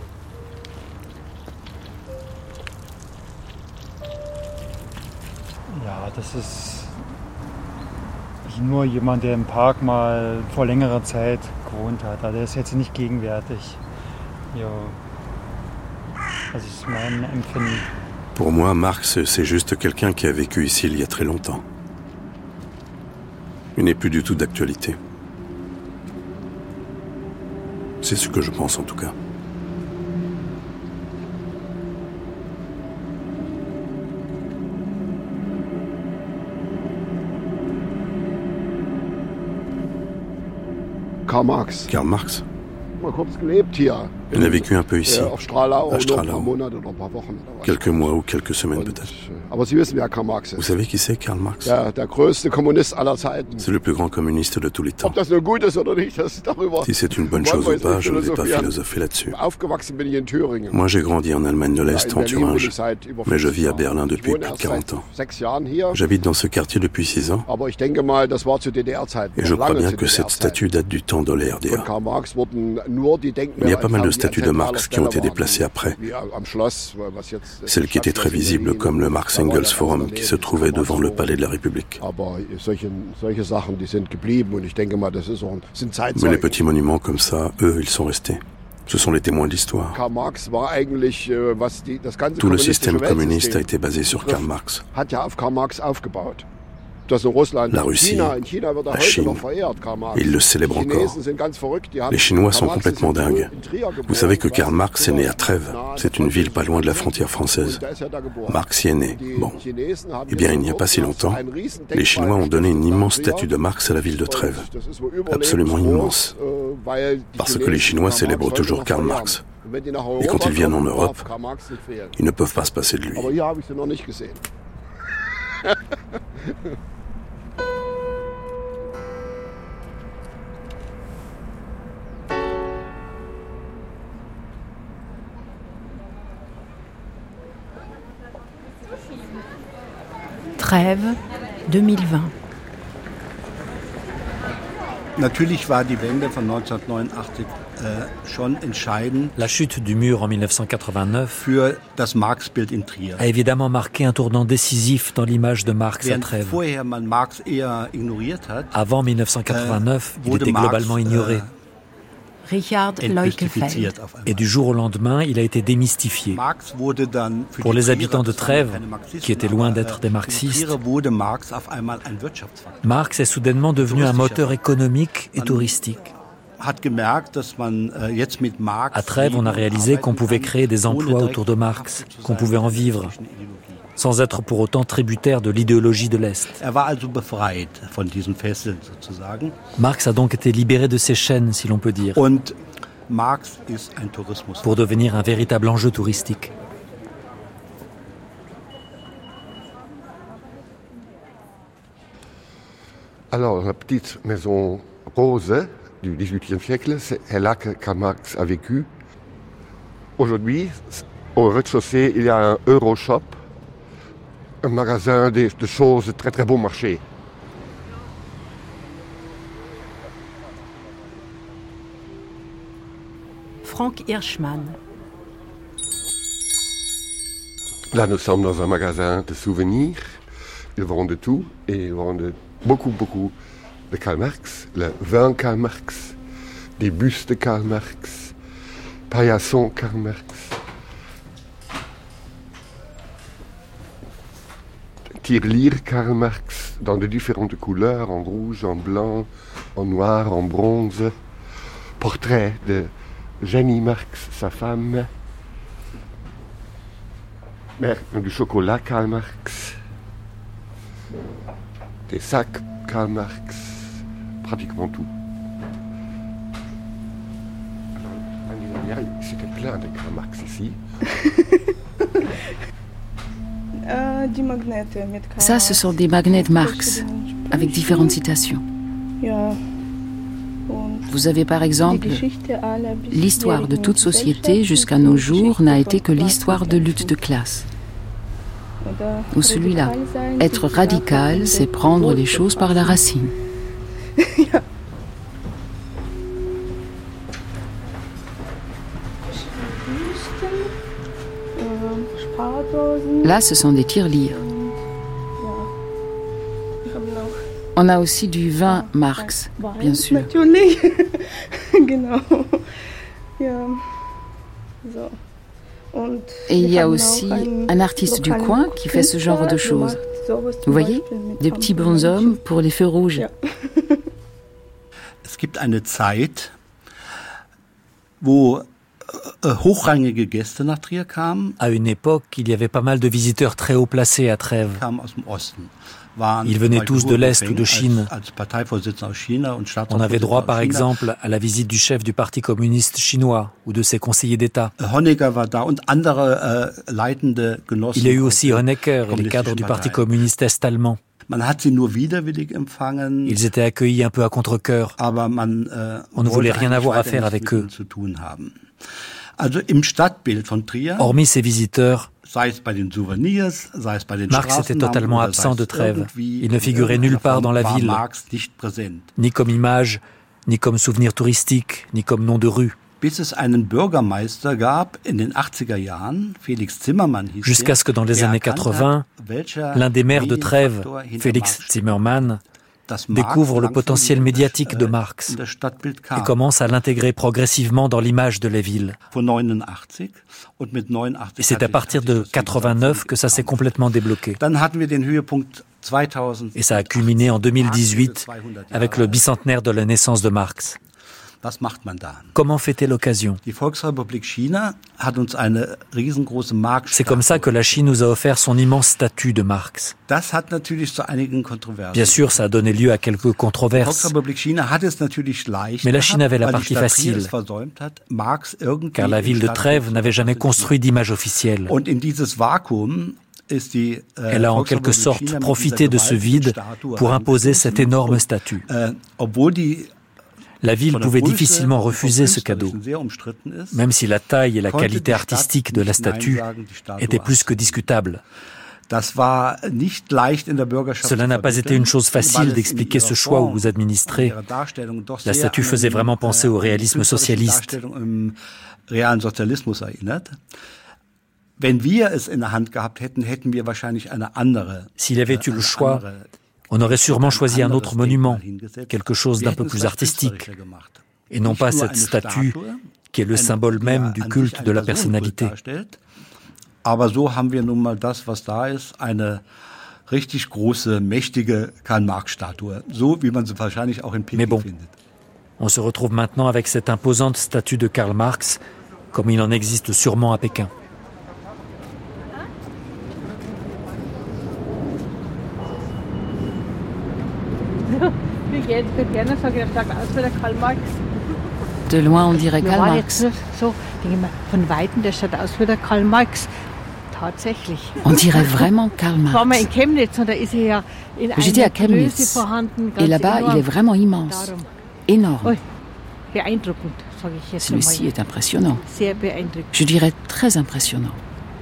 Ja, das ist nur jemand, der im Park mal vor längerer Zeit gewohnt hat. Also der ist jetzt nicht gegenwärtig. Ja, das ist mein Empfinden. Pour moi, Marx, c'est juste quelqu'un qui a vécu ici il y a très longtemps. Il n'est plus du tout d'actualité. C'est ce que je pense en tout cas. Karl Marx. Karl Marx. Mal kurz gelebt hier. Il a vécu un peu ici, à Strahlau, quelques mois ou quelques semaines peut-être. Aber Sie wissen, wer Karl Marx ist. Vous savez qui c'est, Karl Marx? Der größte Kommunist aller Zeiten. C'est le plus grand communiste de tous les temps. Ob das nur gut ist oder nicht, das darüber. Si c'est une bonne chose ou pas, je ne vais pas philosopher là-dessus. Aufgewachsen bin ich in Thüringen. Moi, j'ai grandi en Allemagne de l'Est, en Thuringe, mais je vis à Berlin depuis plus de 40 ans. J'habite dans ce quartier depuis 6 ans, Aber ich denke mal, das war zu DDR-Zeiten. et je crois bien que cette statue date du temps de la RDA. Il y a pas mal de statues de Marx qui ont été déplacées après. Celle qui était très visible, comme le Marx-Engels-Forum qui se trouvait devant le palais de la République. Mais les petits monuments comme ça, eux, ils sont restés. Ce sont les témoins de l'histoire. Tout le système communiste a été basé sur Karl Marx. La Russie, la Chine, ils le célèbrent encore. Les Chinois sont complètement dingues. Vous savez que Karl Marx est né à Trèves. C'est une ville pas loin de la frontière française. Marx y est né. Bon. Eh bien, il n'y a pas si longtemps, les Chinois ont donné une immense statue de Marx à la ville de Trèves. Absolument immense. Parce que les Chinois célèbrent toujours Karl Marx. Et quand ils viennent en Europe, ils ne peuvent pas se passer de lui. Trêve, 2020. Natürlich war die Wende von 1989 schon entscheidend. La chute du mur en 1989 für das Marx-Bild in Trier. A évidemment marqué un tournant décisif dans l'image de Marx à Trèves. Vorher man Marx eher ignoriert hat, avant 1989, il était globalement ignoré. Richard Leukefeld. Et du jour au lendemain, il a été démystifié. Pour les habitants de Trèves, qui étaient loin d'être des marxistes, Marx est soudainement devenu un moteur économique et touristique. À Trèves, on a réalisé qu'on pouvait créer des emplois autour de Marx, qu'on pouvait en vivre, sans être pour autant tributaire de l'idéologie de l'Est. Marx a donc été libéré de ses chaînes, si l'on peut dire, pour devenir un véritable enjeu touristique. Alors, la petite maison rose du XVIIIe siècle, c'est là que Karl Marx a vécu. Aujourd'hui, au rez-de-chaussée, il y a un Euroshop, un magasin de choses très très bon marché. Frank Hirschmann. Là, nous sommes dans un magasin de souvenirs. Ils vendent tout et ils vendent beaucoup de Karl Marx, le vin Karl Marx, des bustes de Karl Marx, paillassons Karl Marx. Tirelire Karl Marx dans de différentes couleurs, en rouge, en blanc, en noir, en bronze. Portrait de Jenny Marx, sa femme. Du chocolat Karl Marx. Des sacs Karl Marx. Pratiquement tout. C'était plein de Karl Marx ici. Ça, ce sont des magnets Marx, avec différentes citations. Vous avez par exemple « L'histoire de toute société jusqu'à nos jours n'a été que l'histoire de lutte de classe ». Ou celui-là, « Être radical, c'est prendre les choses par la racine ». Là, ce sont des tirelires. On a aussi du vin Marx, bien sûr. Et il y a aussi un artiste du coin qui fait ce genre de choses. Vous voyez, des petits bonshommes pour les feux rouges. Es gibt eine Zeit, wo hochrangige Gäste nach Trier kamen. À une époque, il y avait pas mal de visiteurs très haut placés à Trèves. Ils venaient tous de l'Est ou de Chine. On avait droit, par exemple, à la visite du chef du Parti communiste chinois ou de ses conseillers d'État. Il y a eu aussi Honecker et les cadres du Parti communiste est-allemand. Ils étaient accueillis un peu à contre-cœur. On ne voulait rien avoir à faire avec eux. Hormis ces visiteurs, Marx était totalement absent de Trèves. Il ne figurait nulle part dans la ville, ni comme image, ni comme souvenir touristique, ni comme nom de rue. Jusqu'à ce que dans les années 80, l'un des maires de Trèves, Félix Zimmermann, découvre le potentiel médiatique de Marx et commence à l'intégrer progressivement dans l'image de la ville. Et c'est à partir de 89 que ça s'est complètement débloqué. Et ça a culminé en 2018 avec le bicentenaire de la naissance de Marx. Comment fêter l'occasion? C'est comme ça que la Chine nous a offert son immense statue de Marx. Bien sûr, ça a donné lieu à quelques controverses. Mais la Chine avait la partie facile, car la ville de Trèves n'avait jamais construit d'image officielle. Elle a en quelque sorte profité de ce vide pour imposer cette énorme statue. La ville pouvait difficilement refuser ce cadeau, même si la taille et la qualité artistique de la statue étaient plus que discutables. Cela n'a pas été une chose facile d'expliquer ce choix aux administrés. La statue faisait vraiment penser au réalisme socialiste. S'il avait eu le choix, on aurait sûrement choisi un autre monument, quelque chose d'un peu plus artistique, et non pas cette statue qui est le symbole même du culte de la personnalité. Aber so haben wir nun mal das, was da ist, eine richtig große, mächtige Karl-Marx-Statue, so wie man sie wahrscheinlich auch in Peking findet. On se retrouve maintenant avec cette imposante statue de Karl Marx, comme il en existe sûrement à Pékin. De loin, on dirait Karl Marx. On dirait vraiment Karl Marx. J'étais à Chemnitz et là-bas, il est vraiment immense, énorme. Celui-ci est impressionnant. Je dirais très impressionnant.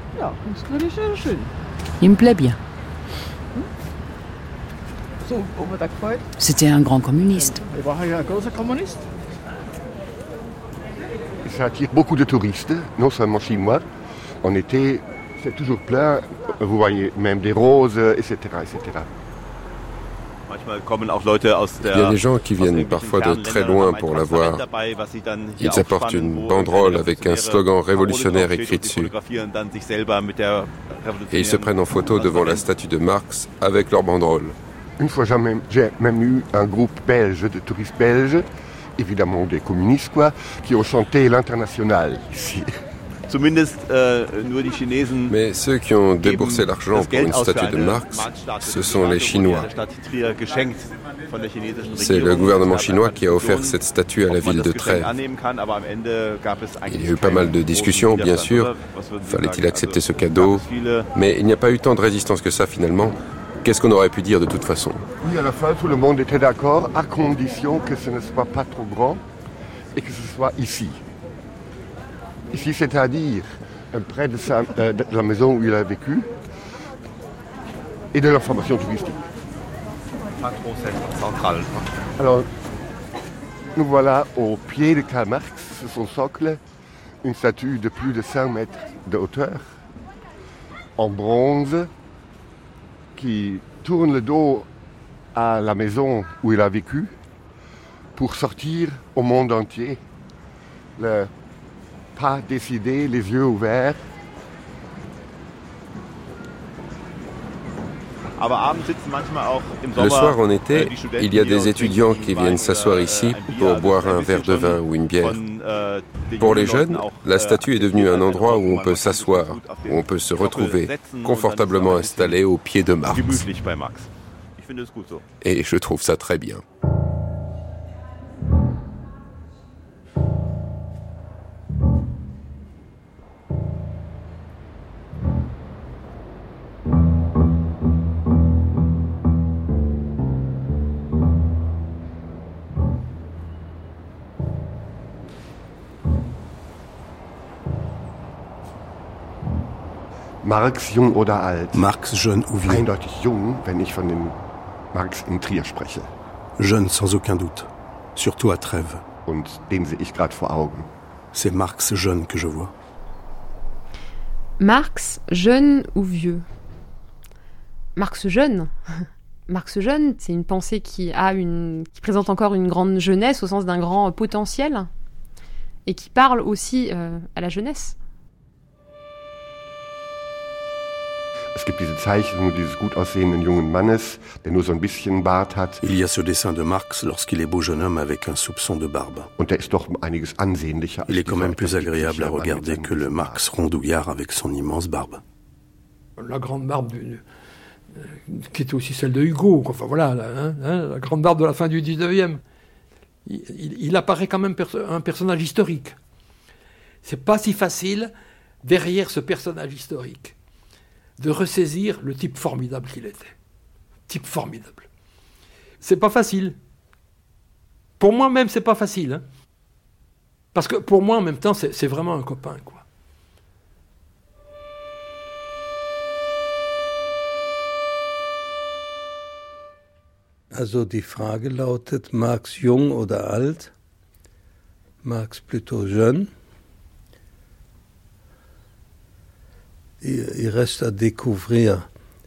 Il me plaît bien. C'était un grand communiste. Ça attire beaucoup de touristes, non seulement chinois. En été, c'est toujours plein. Vous voyez même des roses, etc., etc. Il y a des gens qui viennent parfois de très loin pour la voir. Ils apportent une banderole avec un slogan révolutionnaire écrit dessus. Et ils se prennent en photo devant la statue de Marx avec leur banderole. Une fois, j'ai même eu un groupe belge, de touristes belges, évidemment des communistes, quoi, qui ont chanté l'Internationale ici. Mais ceux qui ont déboursé l'argent pour une statue de Marx, ce sont les Chinois. C'est le gouvernement chinois qui a offert cette statue à la ville de Trèves. Il y a eu pas mal de discussions, bien sûr. Fallait-il accepter ce cadeau? Mais il n'y a pas eu tant de résistance que ça, finalement. Qu'est-ce qu'on aurait pu dire de toute façon? Oui, à la fin, tout le monde était d'accord, à condition que ce ne soit pas trop grand et que ce soit ici. Ici, c'est-à-dire près de la maison où il a vécu et de l'information touristique. Pas trop central. Alors, nous voilà au pied de Karl Marx, sur son socle, une statue de plus de 5 mètres de hauteur, en bronze, qui tourne le dos à la maison où il a vécu pour sortir au monde entier. Le pas décidé, les yeux ouverts. Le soir en été, il y a des étudiants qui viennent s'asseoir ici pour boire un verre de vin ou une bière. Pour les jeunes, la statue est devenue un endroit où on peut s'asseoir, où on peut se retrouver, confortablement installé au pied de Marx. Et je trouve ça très bien. Marx, jung oder alt? Marx, jeune ou vieux? Eindeutig jung, wenn ich von dem Marx in Trier spreche. Jeune sans aucun doute, surtout à Trèves. Und den sehe ich gerade vor Augen. C'est Marx jeune que je vois. Marx, jeune ou vieux? Marx jeune. Marx jeune, c'est une pensée qui présente encore une grande jeunesse au sens d'un grand potentiel et qui parle aussi à la jeunesse. Es gibt diese Zeichnung dieses gut aussehenden jungen Mannes, der nur so ein bisschen Bart hat. Il y a ce dessin de Marx lorsqu'il est beau jeune homme avec un soupçon de barbe. Und der ist doch einiges ansehnlicher. Il est quand même plus agréable à regarder que le Marx rondouillard avec son immense barbe. La grande barbe qui était aussi celle de Hugo, enfin voilà, la grande barbe de la fin du 19e. Il apparaît quand même un personnage historique. C'est pas si facile derrière ce personnage historique de ressaisir le type formidable qu'il était. Type formidable. C'est pas facile. Pour moi-même, c'est pas facile. Hein. Parce que pour moi, en même temps, c'est vraiment un copain, quoi. Also die Frage lautet, Marx jung oder alt? Marx plutôt jeune. Il reste à découvrir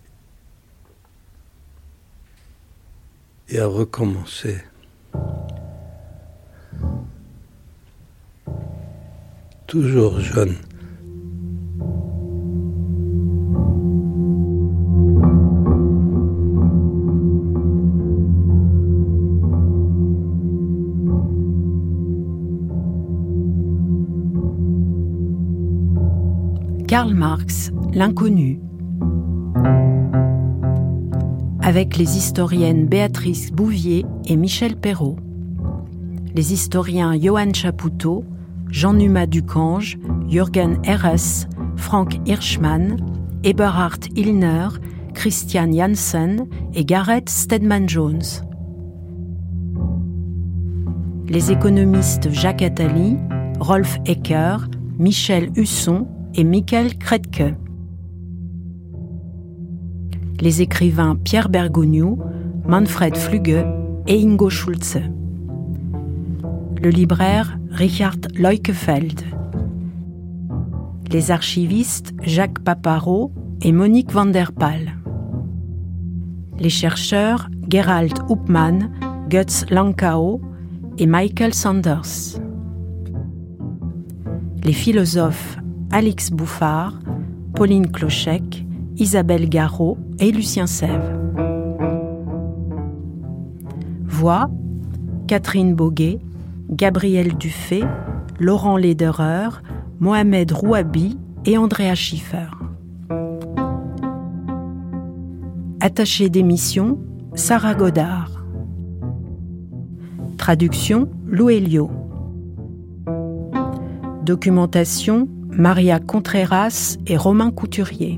et à recommencer. Toujours jeune. Karl Marx, l'inconnu. Avec les historiennes Béatrice Bouvier et Michel Perrault. Les historiens Johann Chapoutot, Jean-Numa Ducange, Jürgen Herres, Frank Hirschmann, Eberhard Illner, Christian Janssen et Gareth Stedman-Jones. Les économistes Jacques Attali, Rolf Ecker, Michel Husson et Michael Kretke. Les écrivains Pierre Bergogneau, Manfred Flügge et Ingo Schulze. Le libraire Richard Leukefeld. Les archivistes Jacques Paparo et Monique van der Pal. Les chercheurs Gerald Uppmann, Götz Lankau et Michael Sanders. Les philosophes Alix Bouffard, Pauline Clochec, Isabelle Garot et Lucien Sève. Voix Catherine Boguet, Gabriel Dufay, Laurent Lederer, Mohamed Rouabi et Andrea Schiffer. Attachée d'émission, Sarah Godard. Traduction, Lou Elio. Documentation, Maria Contreras et Romain Couturier.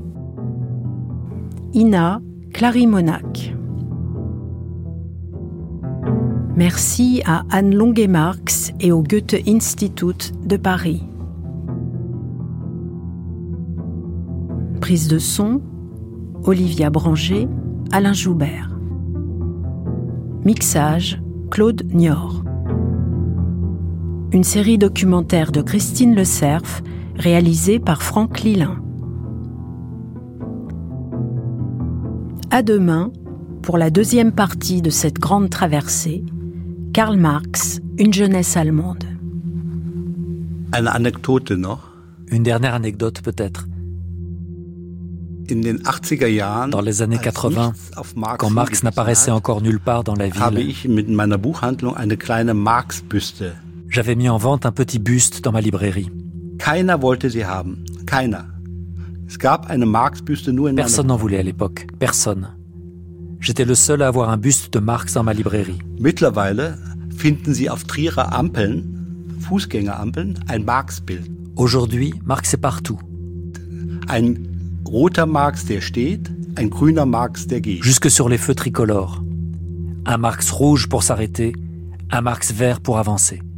Ina, Clary Monac. Merci à Anne Longuet-Marx et au Goethe-Institut de Paris. Prise de son, Olivia Branger, Alain Joubert. Mixage, Claude Niort. Une série documentaire de Christine Le Cerf, réalisée par Franck Lilin. À demain, pour la deuxième partie de cette grande traversée, Karl Marx, une jeunesse allemande. Eine Anekdote noch. Une dernière anecdote peut-être. Dans les années 80, quand Marx n'apparaissait encore nulle part dans la ville, j'avais mis en vente un petit buste dans ma librairie. Personne n'en voulait à l'époque, personne. J'étais le seul à avoir un buste de Marx dans ma librairie. Aujourd'hui, Marx est partout. Jusque sur les feux tricolores. Un Marx rouge pour s'arrêter, un Marx vert pour avancer.